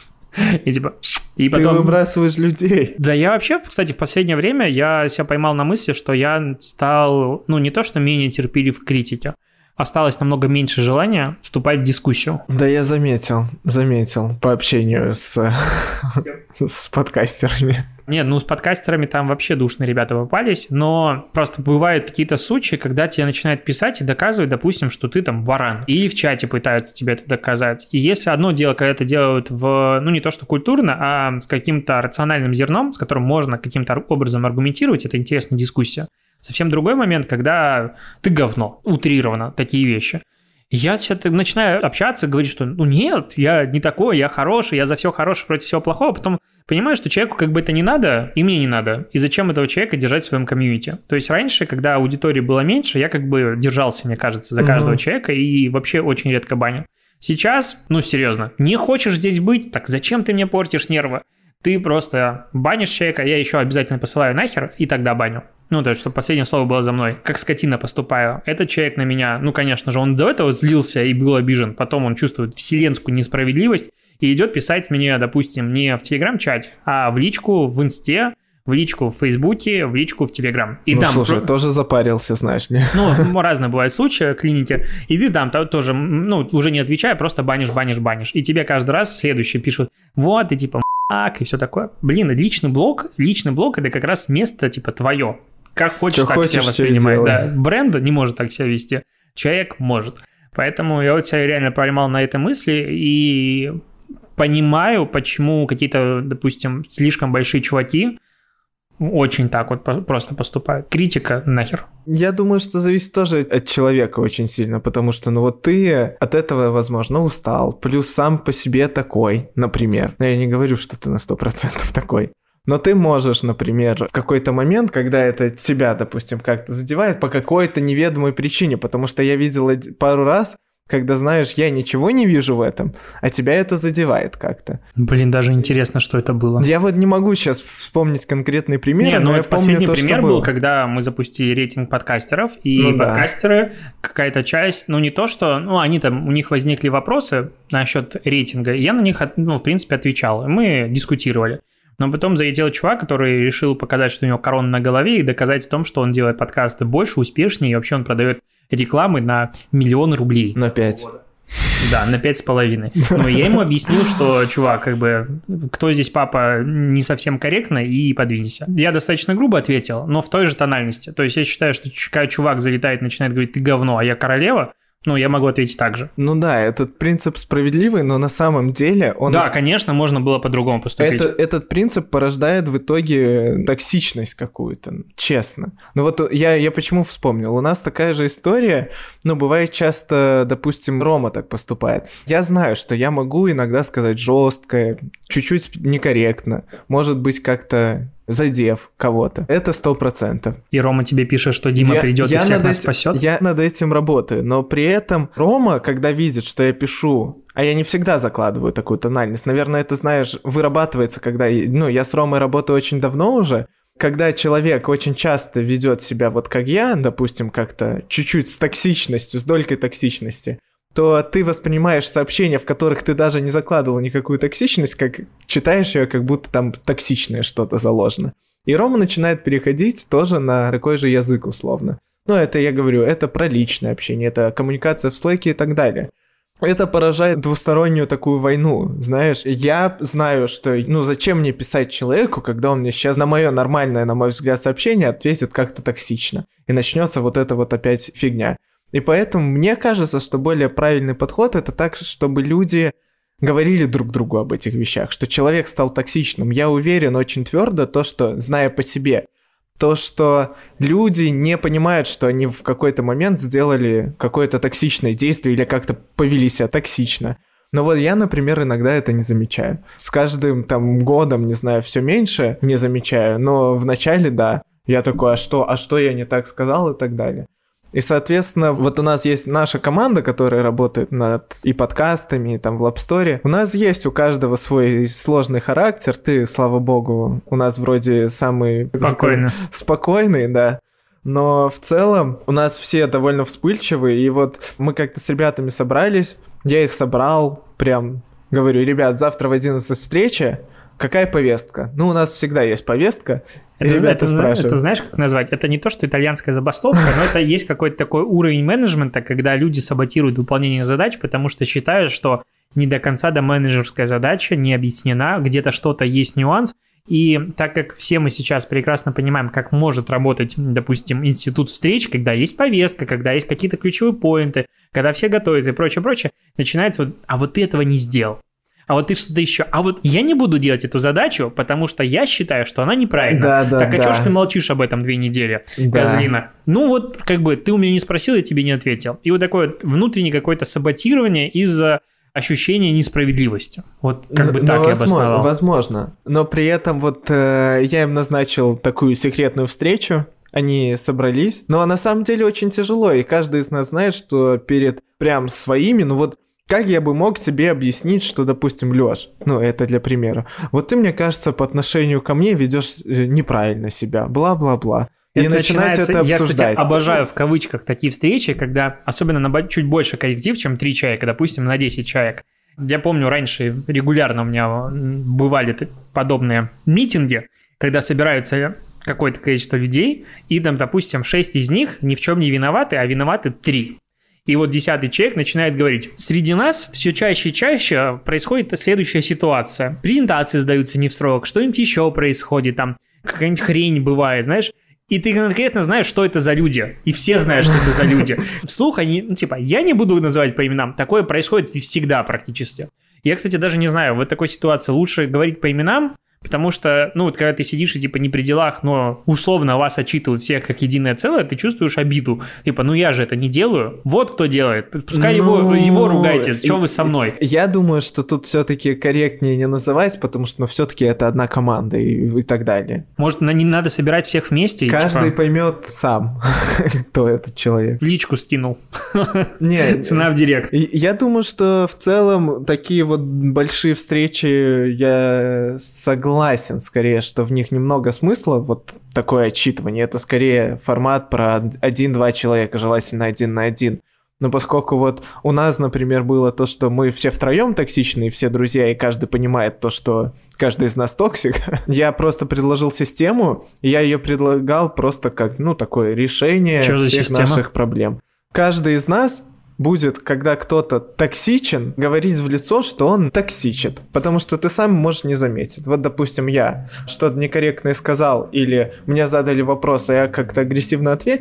И типа, и потом... Ты выбрасываешь людей. Да, я вообще, кстати, в последнее время я себя поймал на мысли, что я стал, ну, не то, что менее терпелив к критике, осталось намного меньше желания вступать в дискуссию. Да, я заметил, заметил по общению с, с подкастерами. Нет, ну с подкастерами там вообще душные ребята попались, но просто бывают какие-то случаи, когда тебе начинают писать и доказывать, допустим, что ты там баран. Или в чате пытаются тебе это доказать. И если одно дело, когда это делают в, ну не то что культурно, а с каким-то рациональным зерном, с которым можно каким-то образом аргументировать, это интересная дискуссия. Совсем другой момент, когда ты говно, утрированно, такие вещи. Я начинаю общаться, говорить, что ну нет, я не такой, я хороший, я за все хорошее против всего плохого, потом понимаю, что человеку как бы это не надо, и мне не надо, и зачем этого человека держать в своем комьюнити. То есть раньше, когда аудитории было меньше, я как бы держался, мне кажется, за каждого угу. человека и вообще очень редко банил. Сейчас, ну серьезно, не хочешь здесь быть, так зачем ты мне портишь нервы? Ты просто банишь человека, я еще обязательно посылаю нахер, и тогда баню. Ну, то есть, чтобы последнее слово было за мной. Как скотина поступаю. Этот человек на меня, ну, конечно же, он до этого злился и был обижен. Потом он чувствует вселенскую несправедливость и идет писать мне, допустим, не в Телеграм-чате, а в личку в Инсте, в личку в Фейсбуке, в личку в Телеграм. И ну, там слушай, про... тоже запарился, знаешь ли. Ну, разные бывают случаи, клиники. И ты там тоже, ну, уже не отвечая, просто банишь, банишь, банишь. И тебе каждый раз следующие пишут, вот, ты типа м***ак и все такое. Блин, личный блог, личный блог это как раз место типа твое. Как хочешь, Что так хочешь, себя воспринимать. Да. Бренд не может так себя вести, человек может. Поэтому я вот себя реально поймал на этой мысли и понимаю, почему какие-то, допустим, слишком большие чуваки очень так вот просто поступают. Критика нахер. Я думаю, что зависит тоже от человека очень сильно, потому что, ну вот ты от этого, возможно, устал, плюс сам по себе такой, например. Но я не говорю, что ты на сто процентов такой. Но ты можешь, например, в какой-то момент, когда это тебя, допустим, как-то задевает по какой-то неведомой причине, потому что я видел пару раз, когда, знаешь, я ничего не вижу в этом, а тебя это задевает как-то. Блин, даже интересно, что это было. Я вот не могу сейчас вспомнить конкретный пример, не, но ну, я последний помню то, пример что был, было. Когда мы запустили рейтинг подкастеров, и ну, подкастеры, да. какая-то часть, ну не то, что, ну они там, у них возникли вопросы насчет рейтинга, и я на них, ну, в принципе, отвечал, и мы дискутировали. Но потом залетел чувак, который решил показать, что у него корона на голове, и доказать в том, что он делает подкасты больше, успешнее, и вообще он продает рекламы на миллион рублей. На пять. Да, на пять с половиной. Но я ему объяснил, что, чувак, как бы, кто здесь папа, не совсем корректно, и подвинься. Я достаточно грубо ответил, но в той же тональности. То есть я считаю, что когда чувак залетает и начинает говорить, ты говно, а я королева, Ну, я могу ответить так же. Ну да, этот принцип справедливый, но на самом деле он... Да, конечно, можно было по-другому поступить. Это, этот принцип порождает в итоге токсичность какую-то, честно. Ну вот я, я почему вспомнил? У нас такая же история, ну, бывает часто, допустим, Рома так поступает. Я знаю, что я могу иногда сказать жестко, чуть-чуть некорректно, может быть, как-то... задев кого-то. Это сто процентов. И Рома тебе пишет, что Дима я, придет я и всех нас этим, спасет? Я над этим работаю, но при этом Рома, когда видит, что я пишу, а я не всегда закладываю такую тональность, наверное, это, знаешь, вырабатывается, когда... Ну, я с Ромой работаю очень давно уже, когда человек очень часто ведет себя вот как я, допустим, как-то чуть-чуть с токсичностью, с долькой токсичности, то ты воспринимаешь сообщения, в которых ты даже не закладывал никакую токсичность, как читаешь ее, как будто там токсичное что-то заложено. И Рома начинает переходить тоже на такой же язык условно. Ну, это я говорю, это про личное общение, это коммуникация в Slack и так далее. Это поражает двустороннюю такую войну, знаешь. Я знаю, что, ну, зачем мне писать человеку, когда он мне сейчас на мое нормальное, на мой взгляд, сообщение ответит как-то токсично. И начнется вот эта вот опять фигня. И поэтому мне кажется, что более правильный подход — это так, чтобы люди говорили друг другу об этих вещах, что человек стал токсичным. Я уверен очень твердо то, что, зная по себе, то, что люди не понимают, что они в какой-то момент сделали какое-то токсичное действие или как-то повели себя токсично. Но вот я, например, иногда это не замечаю. С каждым там годом, не знаю, все меньше не замечаю, но в начале, да, я такой, а что, а что я не так сказал и так далее. И, соответственно, вот у нас есть наша команда, которая работает над и подкастами, и там в LabStore. У нас есть у каждого свой сложный характер. Ты, слава богу, у нас вроде самый... Спокойный. Спокойный, да. Но в целом у нас все довольно вспыльчивые. И вот мы как-то с ребятами собрались, я их собрал, прям говорю, ребят, завтра в одиннадцать встреча. Какая повестка? Ну, у нас всегда есть повестка. Это, ребята это, спрашивают. Это знаешь, как назвать? Это не то, что итальянская забастовка, но это есть какой-то такой уровень менеджмента, когда люди саботируют выполнение задач, потому что считают, что не до конца до менеджерская задача не объяснена, где-то что-то есть нюанс. И так как все мы сейчас прекрасно понимаем, как может работать, допустим, институт встреч, когда есть повестка, когда есть какие-то ключевые поинты, когда все готовятся и прочее, прочее, начинается вот, а вот ты этого не сделал. А вот ты что-то еще. А вот я не буду делать эту задачу, потому что я считаю, что она неправильна. Да, да, так а да. что ж ты молчишь об этом две недели, да. козлина? Ну вот, как бы, ты у меня не спросил, я тебе не ответил. И вот такое вот внутреннее какое-то саботирование из-за ощущения несправедливости. Вот как бы но, так но я возможно, обосновал. Возможно. Но при этом вот э, я им назначил такую секретную встречу. Они собрались. Но на самом деле очень тяжело. И каждый из нас знает, что перед прям своими, ну вот как я бы мог себе объяснить, что, допустим, Лёш, ну, это для примера, вот ты, мне кажется, по отношению ко мне ведешь неправильно себя, бла-бла-бла. И Это начинаете это обсуждать. Я, кстати, обожаю в кавычках такие встречи, когда, особенно на чуть больше коллектив, чем три человека, допустим, на десять человек. Я помню, раньше регулярно у меня бывали подобные митинги, когда собираются какое-то количество людей, и там, допустим, шесть из них ни в чем не виноваты, а виноваты три. И вот десятый человек начинает говорить, среди нас все чаще и чаще происходит следующая ситуация. Презентации сдаются не в срок, что-нибудь еще происходит, там какая-нибудь хрень бывает, знаешь. И ты конкретно знаешь, что это за люди. И все знают, что это за люди. Вслух они, ну типа, я не буду называть по именам, такое происходит всегда практически. Я, кстати, даже не знаю, в такой ситуации лучше говорить по именам, потому что, ну, вот когда ты сидишь и, типа, не при делах, но условно вас отчитывают всех как единое целое, ты чувствуешь обиду. Типа, ну я же это не делаю. Вот кто делает. Пускай ну, его, его ругайте. Что вы со мной? Я думаю, что тут все-таки корректнее не называть, потому что, ну, все-таки это одна команда и, и так далее. Может, не надо собирать всех вместе? И, Каждый типа, поймет сам, кто этот человек. В личку скинул. Нет. Цена в директ. Я думаю, что в целом такие вот большие встречи, я согласен. Согласен, скорее, что в них немного смысла, вот такое отчитывание. Это скорее формат про один-два человека, желательно один на один. Но поскольку вот у нас, например, было то, что мы все втроем токсичные, все друзья, и каждый понимает то, что каждый из нас токсик, я просто предложил систему, и я ее предлагал просто как, ну, такое решение Что за всех система? наших проблем. Каждый из нас будет, когда кто-то токсичен, говорить в лицо, что он токсичит, потому что ты сам можешь не заметить. Вот, допустим, я что-то некорректное сказал, или мне задали вопрос, а я как-то агрессивно ответил,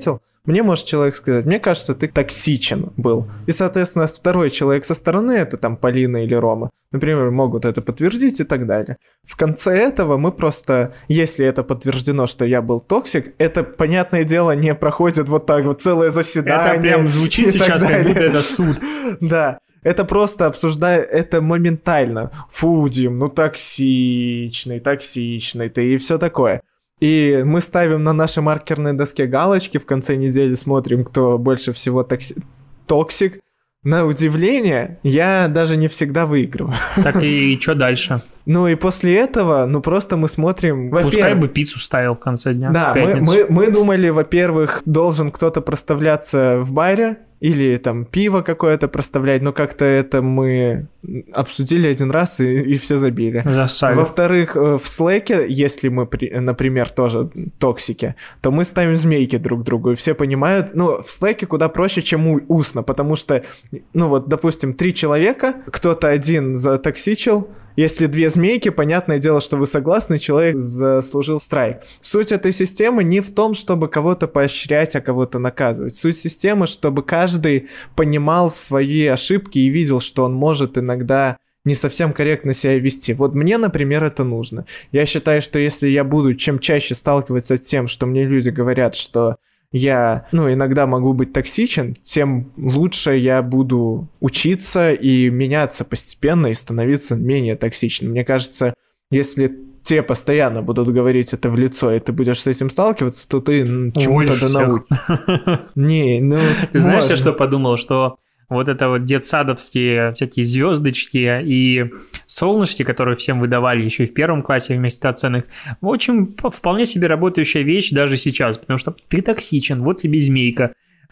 мне может человек сказать, мне кажется, ты токсичен был. И, соответственно, второй человек со стороны, это там Полина или Рома, например, могут это подтвердить и так далее. В конце этого мы просто, если это подтверждено, что я был токсик, это, понятное дело, не проходит вот так вот целое заседание. Это прям звучит сейчас, как будто это суд. Да. Это просто обсуждая, это моментально. Фу, Дим, ну токсичный, токсичный ты и все такое. И мы ставим на нашей маркерной доске галочки, в конце недели смотрим, кто больше всего токси... токсик. На удивление, я даже не всегда выигрываю. Так и что дальше? Ну и после этого, ну просто мы смотрим... Пускай бы пиццу ставил в конце дня. Да, мы, мы, мы думали, во-первых, должен кто-то проставляться в баре, или там пиво какое-то проставлять, но как-то это мы обсудили один раз и, и все забили. Засали. Во-вторых, в Slack'е, если мы, например, тоже токсики, то мы ставим змейки друг другу, и все понимают, ну, в Slack'е куда проще, чем устно, потому что, ну вот, допустим, три человека, кто-то один затоксичил, если две змейки, понятное дело, что вы согласны, человек заслужил страйк. Суть этой системы не в том, чтобы кого-то поощрять, а кого-то наказывать. Суть системы, чтобы каждый понимал свои ошибки и видел, что он может иногда не совсем корректно себя вести. Вот мне, например, это нужно. Я считаю, что если я буду чем чаще сталкиваться с тем, что мне люди говорят, что я, ну, иногда могу быть токсичен, тем лучше я буду учиться и меняться постепенно и становиться менее токсичным. Мне кажется, если тебе постоянно будут говорить это в лицо, и ты будешь с этим сталкиваться, то ты чему-то да научишься. Не, ну... Ты знаешь, я что подумал, что вот это вот детсадовские всякие звездочки и солнышки, которые всем выдавали еще и в первом классе вместе оценок, очень вполне себе работающая вещь даже сейчас, потому что ты токсичен, вот тебе змейка.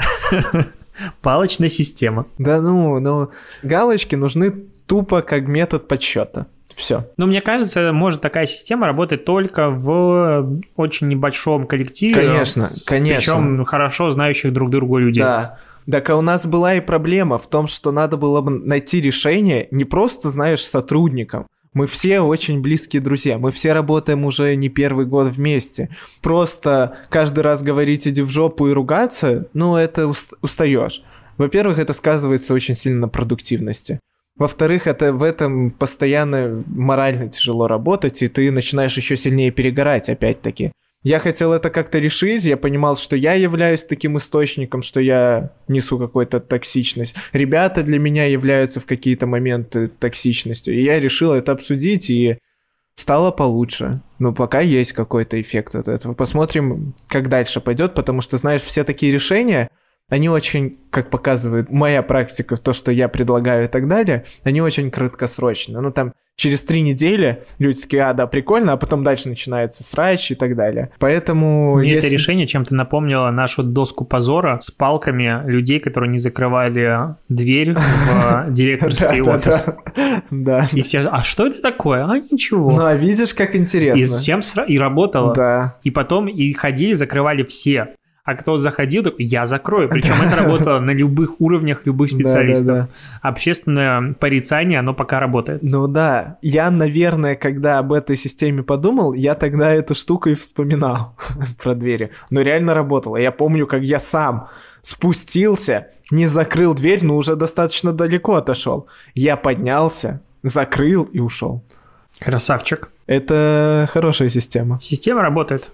Палочная система. Да ну, ну, галочки нужны тупо как метод подсчета. Все. Ну, мне кажется, может такая система работать только в очень небольшом коллективе. Конечно, конечно. Причем хорошо знающих друг друга людей. Да. Так а у нас была и проблема в том, что надо было бы найти решение не просто, знаешь, сотрудникам. Мы все очень близкие друзья, мы все работаем уже не первый год вместе. Просто каждый раз говорить «иди в жопу» и ругаться, ну, это устаешь. Во-первых, это сказывается очень сильно на продуктивности. Во-вторых, это в этом постоянно морально тяжело работать, и ты начинаешь еще сильнее перегорать, опять-таки. Я хотел это как-то решить, я понимал, что я являюсь таким источником, что я несу какую-то токсичность. Ребята для меня являются в какие-то моменты токсичностью, и я решил это обсудить, и стало получше. Ну, пока есть какой-то эффект от этого. Посмотрим, как дальше пойдет, потому что, знаешь, все такие решения, они очень, как показывает моя практика, то, что я предлагаю и так далее, они очень краткосрочные. Ну, там, через три недели люди такие, а, да, прикольно, а потом дальше начинается срач и так далее. Поэтому... Мне если... это решение чем-то напомнило нашу доску позора с палками людей, которые не закрывали дверь в директорский офис. Да. И все, а что это такое? А, ничего. Ну, а видишь, как интересно. И всем и работало. Да. И потом и ходили, закрывали все. А кто заходил, такой, я закрою. Причем да. это работало на любых уровнях, любых специалистов. Да, да, да. Общественное порицание, оно пока работает. Ну да. Я, наверное, когда об этой системе подумал, я тогда эту штуку и вспоминал про двери. Но реально работало. Я помню, как я сам спустился, не закрыл дверь, но уже достаточно далеко отошел. Я поднялся, закрыл и ушел. Красавчик. Это хорошая система. Система работает.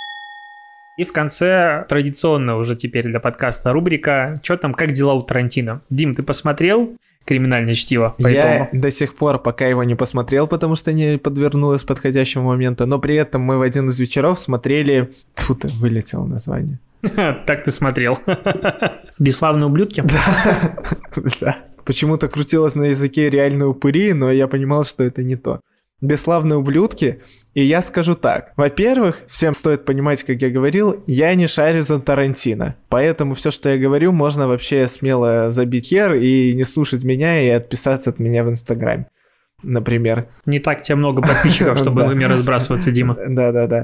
И в конце традиционно уже теперь для подкаста рубрика «Чё там, как дела у Тарантино?». Дим, ты посмотрел «Криминальное чтиво» по Я итогу? до сих пор пока его не посмотрел, потому что не подвернулось подходящего момента, но при этом мы в один из вечеров смотрели... Тут вылетело название. Так ты смотрел. «Бесславные ублюдки»? Да, да. Почему-то крутилось на языке «реальные упыри», но я понимал, что это не то. «Бесславные ублюдки». И я скажу так. Во-первых, всем стоит понимать, как я говорил, я не шарю за Тарантино. Поэтому все, что я говорю, можно вообще смело забить хер и не слушать меня и отписаться от меня в Инстаграме, например. Не так тебе много подписчиков, чтобы ими разбрасываться, Дима. Да-да-да.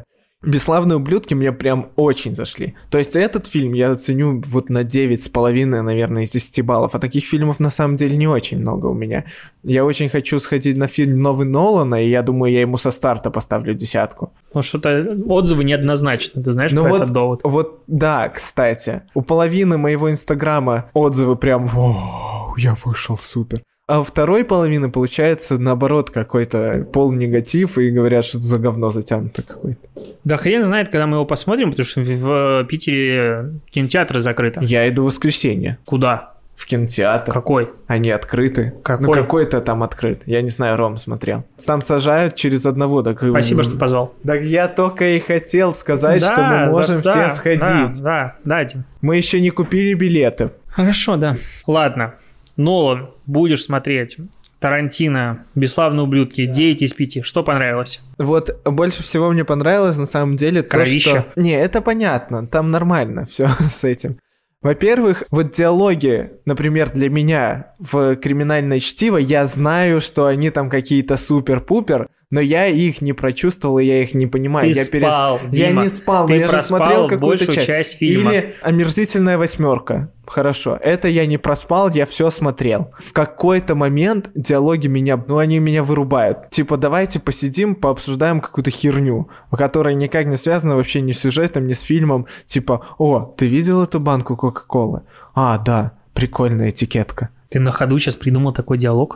«Бесславные ублюдки» мне прям очень зашли. То есть этот фильм я оценю вот на девять с половиной, наверное, из десяти баллов. А таких фильмов на самом деле не очень много у меня. Я очень хочу сходить на фильм новый Нолана, и я думаю, я ему со старта поставлю десятку. Ну, что-то отзывы неоднозначны, ты знаешь ну про вот, этот довод? Вот, да, кстати. У половины моего инстаграма отзывы прям «Вау, я вышел супер». А у второй половины, получается, наоборот, какой-то полнегатив, и говорят, что это за говно затянуто какое-то. Да хрен знает, когда мы его посмотрим, потому что в Питере кинотеатры закрыты. Я иду в воскресенье. Куда? В кинотеатр. Какой? Они открыты. Какой? Ну, какой-то там открыт. Я не знаю, Ром смотрел. Там сажают через одного. Так... Спасибо, что позвал. Так я только и хотел сказать, да, что мы можем да, все да, сходить. Да, да, да, Дим. Мы еще не купили билеты. Хорошо, да. Ладно. Нолан, будешь смотреть. Тарантино, «Бесславные ублюдки», девять из пяти. Что понравилось? Вот больше всего мне понравилось на самом деле Кровища. то, что... Не, это понятно, там нормально все с этим. Во-первых, вот диалоги, например, для меня в «Криминальное чтиво», я знаю, что они там какие-то супер-пупер, но я их не прочувствовал, и я их не понимаю. Ты я спал, перес... Я Дима, не спал, ты но я же смотрел какую-то большую часть. часть фильма. Или «Омерзительная восьмерка». Хорошо, это я не проспал, я все смотрел. В какой-то момент диалоги меня, ну они меня вырубают. Типа, давайте посидим, пообсуждаем какую-то херню, которая никак не связана вообще ни с сюжетом, ни с фильмом. Типа, о, ты видел эту банку Кока-Колы? А, да, прикольная этикетка. Ты на ходу сейчас придумал такой диалог?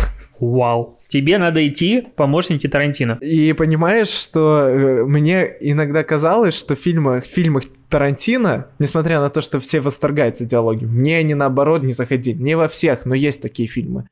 Вау. Тебе надо идти в помощники Тарантино. И понимаешь, что э, мне иногда казалось, что в фильмах, в фильмах Тарантино, несмотря на то, что все восторгаются диалогами, мне они наоборот не заходили. Не во всех, но есть такие фильмы.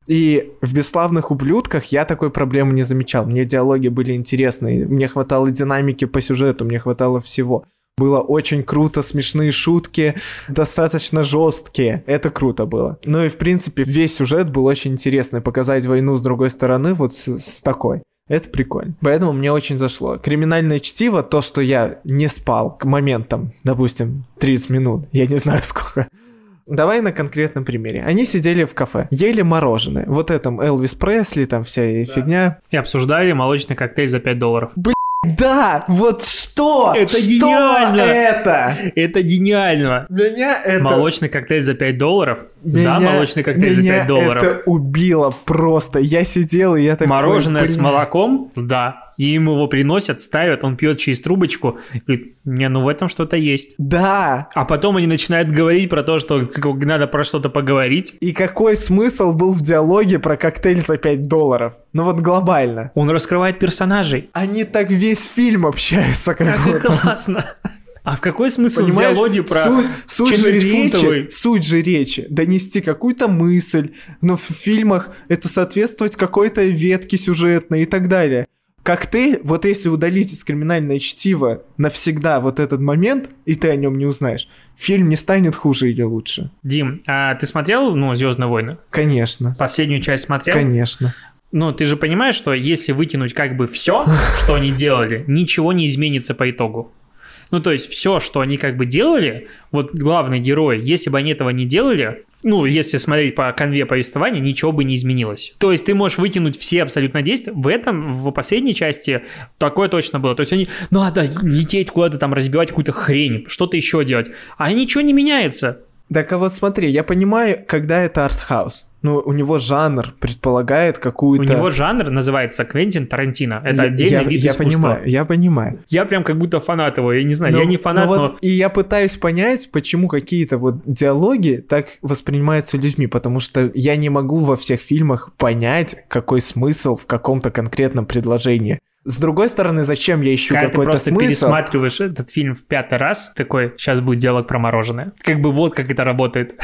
И в «Бесславных ублюдках» я такой проблемы не замечал. Мне диалоги были интересные, мне хватало динамики по сюжету, мне хватало всего. Было очень круто, смешные шутки, достаточно жесткие. Это круто было. Ну и, в принципе, весь сюжет был очень интересный. Показать войну с другой стороны, вот с, с такой. Это прикольно. Поэтому мне очень зашло. «Криминальное чтиво», то, что я не спал к моментам, допустим, тридцать минут, я не знаю сколько. Давай на конкретном примере. Они сидели в кафе, ели мороженое. Вот этом Элвис Пресли, там вся да. фигня. И обсуждали молочный коктейль за пять долларов. Блин. Да, вот что? Это что гениально! это? Это гениально! Меня это... Молочный коктейль за пять долларов? Меня... Да, молочный коктейль меня за пять долларов. это убило просто. Я сидел, и я такой... Мороженое с молоком? Да. И ему его приносят, ставят, он пьет через трубочку. И говорит, не, ну в этом что-то есть. Да. А потом они начинают говорить про то, что надо про что-то поговорить. И какой смысл был в диалоге про коктейль за пять долларов? Ну вот глобально. Он раскрывает персонажей. Они так весь фильм общаются. Как, как классно. А в какой смысл Понимаешь, в диалоге про суть, суть же речи, суть же речи, донести какую-то мысль, но в фильмах это соответствовать какой-то ветке сюжетной и так далее. Коктейль, вот если удалить из «Криминальное чтиво» навсегда вот этот момент, и ты о нем не узнаешь, фильм не станет хуже или лучше. Дим, а ты смотрел, ну, «Звездные войны»? Конечно. Последнюю часть смотрел? Конечно. Ну, ты же понимаешь, что если вытянуть как бы все, что они делали, ничего не изменится по итогу. Ну, то есть все, что они как бы делали, вот главный герой, если бы они этого не делали, ну, если смотреть по канве повествования, ничего бы не изменилось. То есть ты можешь вытянуть все абсолютно действия. В этом, в последней части такое точно было. То есть они, надо лететь куда-то там, разбивать какую-то хрень, что-то еще делать. А ничего не меняется. Так а вот смотри, я понимаю, когда это артхаус. Ну, у него жанр предполагает какую-то... У него жанр называется Квентин Тарантино. Это я, отдельный я, вид я искусства. Понимаю, я понимаю. Я прям как будто фанат его, я не знаю, но, я не фанат, но... но... Вот, и я пытаюсь понять, почему какие-то вот диалоги так воспринимаются людьми, потому что я не могу во всех фильмах понять, какой смысл в каком-то конкретном предложении. С другой стороны, зачем я ищу Когда какой-то смысл? Когда ты просто пересматриваешь этот фильм в пятый раз, такой, сейчас будет диалог про мороженое. Как бы вот как это работает.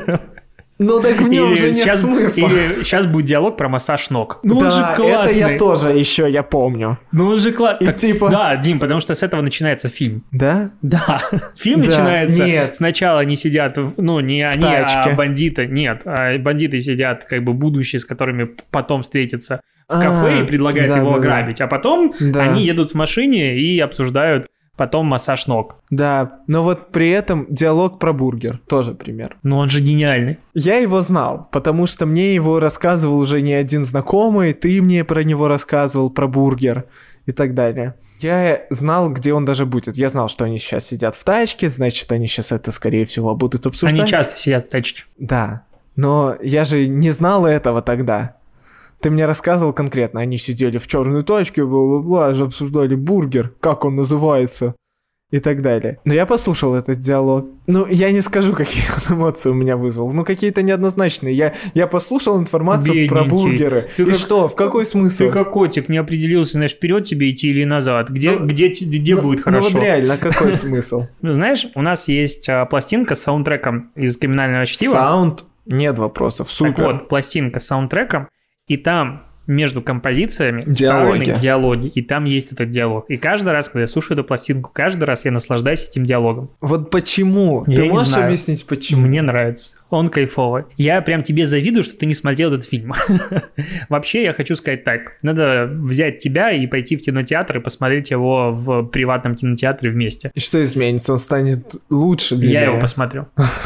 Ну так в нем уже нет сейчас, смысла. Или сейчас будет диалог про массаж ног. Ну да, он же классный. Это я тоже еще, я помню. Ну он же классный. И типа... Да, Дим, потому что с этого начинается фильм. Да? Да. Фильм да, начинается... Нет. Сначала они сидят, ну не в они, тачке. А бандиты. Нет, а бандиты сидят, как бы будущие, с которыми потом встретятся в кафе а, и предлагают да, его да, ограбить. Да. А потом да. они едут в машине и обсуждают потом массаж ног. Да, но вот при этом диалог про бургер, тоже пример. Но он же гениальный. Я его знал, потому что мне его рассказывал уже не один знакомый, ты мне про него рассказывал, про бургер и так далее. Я знал, где он даже будет. Я знал, что они сейчас сидят в тачке, значит, они сейчас это, скорее всего, будут обсуждать. Они часто сидят в тачке. Да, но я же не знал этого тогда. Ты мне рассказывал конкретно, они сидели в черной тачке, бла-бла-бла, же обсуждали бургер, как он называется, и так далее. Но я послушал этот диалог. Ну, я не скажу, какие он эмоции у меня вызвал. Ну, какие-то неоднозначные. Я, я послушал информацию Бедненький. про бургеры. Ты и как, что? В какой смысл? Ты как котик, не определился, знаешь, вперед тебе идти или назад. Где, ну, где, где ну, будет хорошо? Ну, вот реально, какой смысл? Знаешь, у нас есть пластинка с саундтреком из «Криминального чтива». Саунд? Нет вопросов. Супер. Так вот, пластинка с саундтреком, и там между композициями диалоги. диалоги, и там есть этот диалог. И каждый раз, когда я слушаю эту пластинку, каждый раз я наслаждаюсь этим диалогом. Вот почему? Я Ты не можешь знаю. объяснить, почему? Мне нравится. Он кайфовый. Я прям тебе завидую, что ты не смотрел этот фильм. Вообще, я хочу сказать так. Надо взять тебя и пойти в кинотеатр и посмотреть его в приватном кинотеатре вместе. И что изменится? Он станет лучше для Я меня? его посмотрю.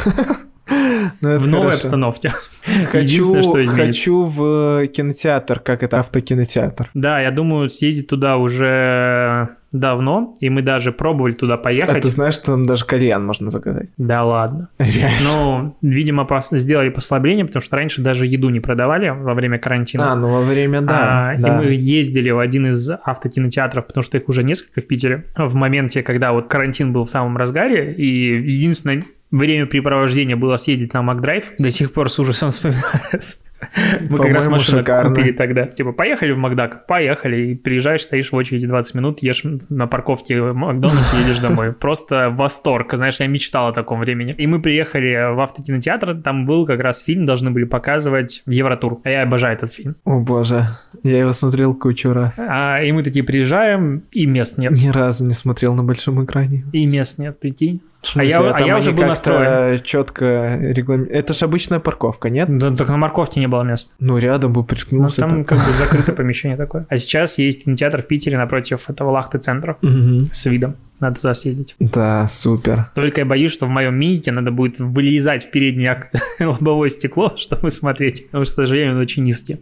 Ну, в новой хорошо. обстановке. Хочу, что изменится. хочу в кинотеатр, как это, автокинотеатр. Да, я думаю, съездить туда уже давно, и мы даже пробовали туда поехать. А ты знаешь, что там даже кальян можно заказать? Да ладно. Реально. Ну, видимо, пос- сделали послабление, потому что раньше даже еду не продавали во время карантина. А, ну во время, да. А, да. И мы ездили в один из автокинотеатров, потому что их уже несколько в Питере, в моменте, когда вот карантин был в самом разгаре, и единственное времяпрепровождение было съездить на Макдрайв. До сих пор с ужасом вспоминают. Мы как раз машину шикарно. купили тогда. Типа, поехали в Макдак? Поехали. И приезжаешь, стоишь в очереди двадцать минут, ешь на парковке в Макдональдсе и едешь домой. Просто восторг. Знаешь, я мечтал о таком времени. И мы приехали в автокинотеатр, там был как раз фильм, должны были показывать Евротур. А я обожаю этот фильм. О боже, я его смотрел кучу раз. А, и мы такие приезжаем, и мест нет. Ни разу не смотрел на большом экране. И мест нет, прикинь. А я, а я уже был настроен. четко регламент... Это ж обычная парковка, нет? Да, только на морковке не было мест. Ну, рядом бы Ну, приткнулся. там как бы закрытое помещение такое. А сейчас есть кинотеатр в Питере напротив этого Лахты-центра Угу. с видом. Надо туда съездить. Да, супер. Только я боюсь, что в моем минике надо будет вылезать в переднее ок- лобовое стекло, чтобы смотреть, потому что, к сожалению, он очень низкий.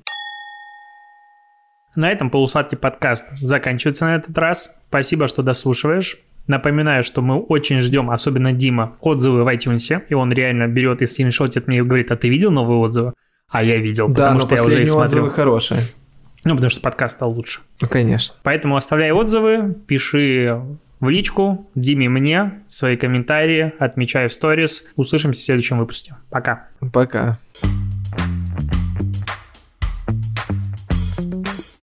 На этом полусладкий подкаст заканчивается на этот раз. Спасибо, что дослушиваешь. Напоминаю, что мы очень ждем, особенно Дима, отзывы в iTunes, и он реально берет и скриншотит мне и говорит: а ты видел новые отзывы? А я видел, Да, потому но что я уже их последние смотрю. отзывы хорошие. Ну, потому что подкаст стал лучше. Ну, конечно. Поэтому оставляй отзывы, пиши в личку, Диме, мне, свои комментарии, отмечай в сторис. Услышимся в следующем выпуске. Пока. Пока.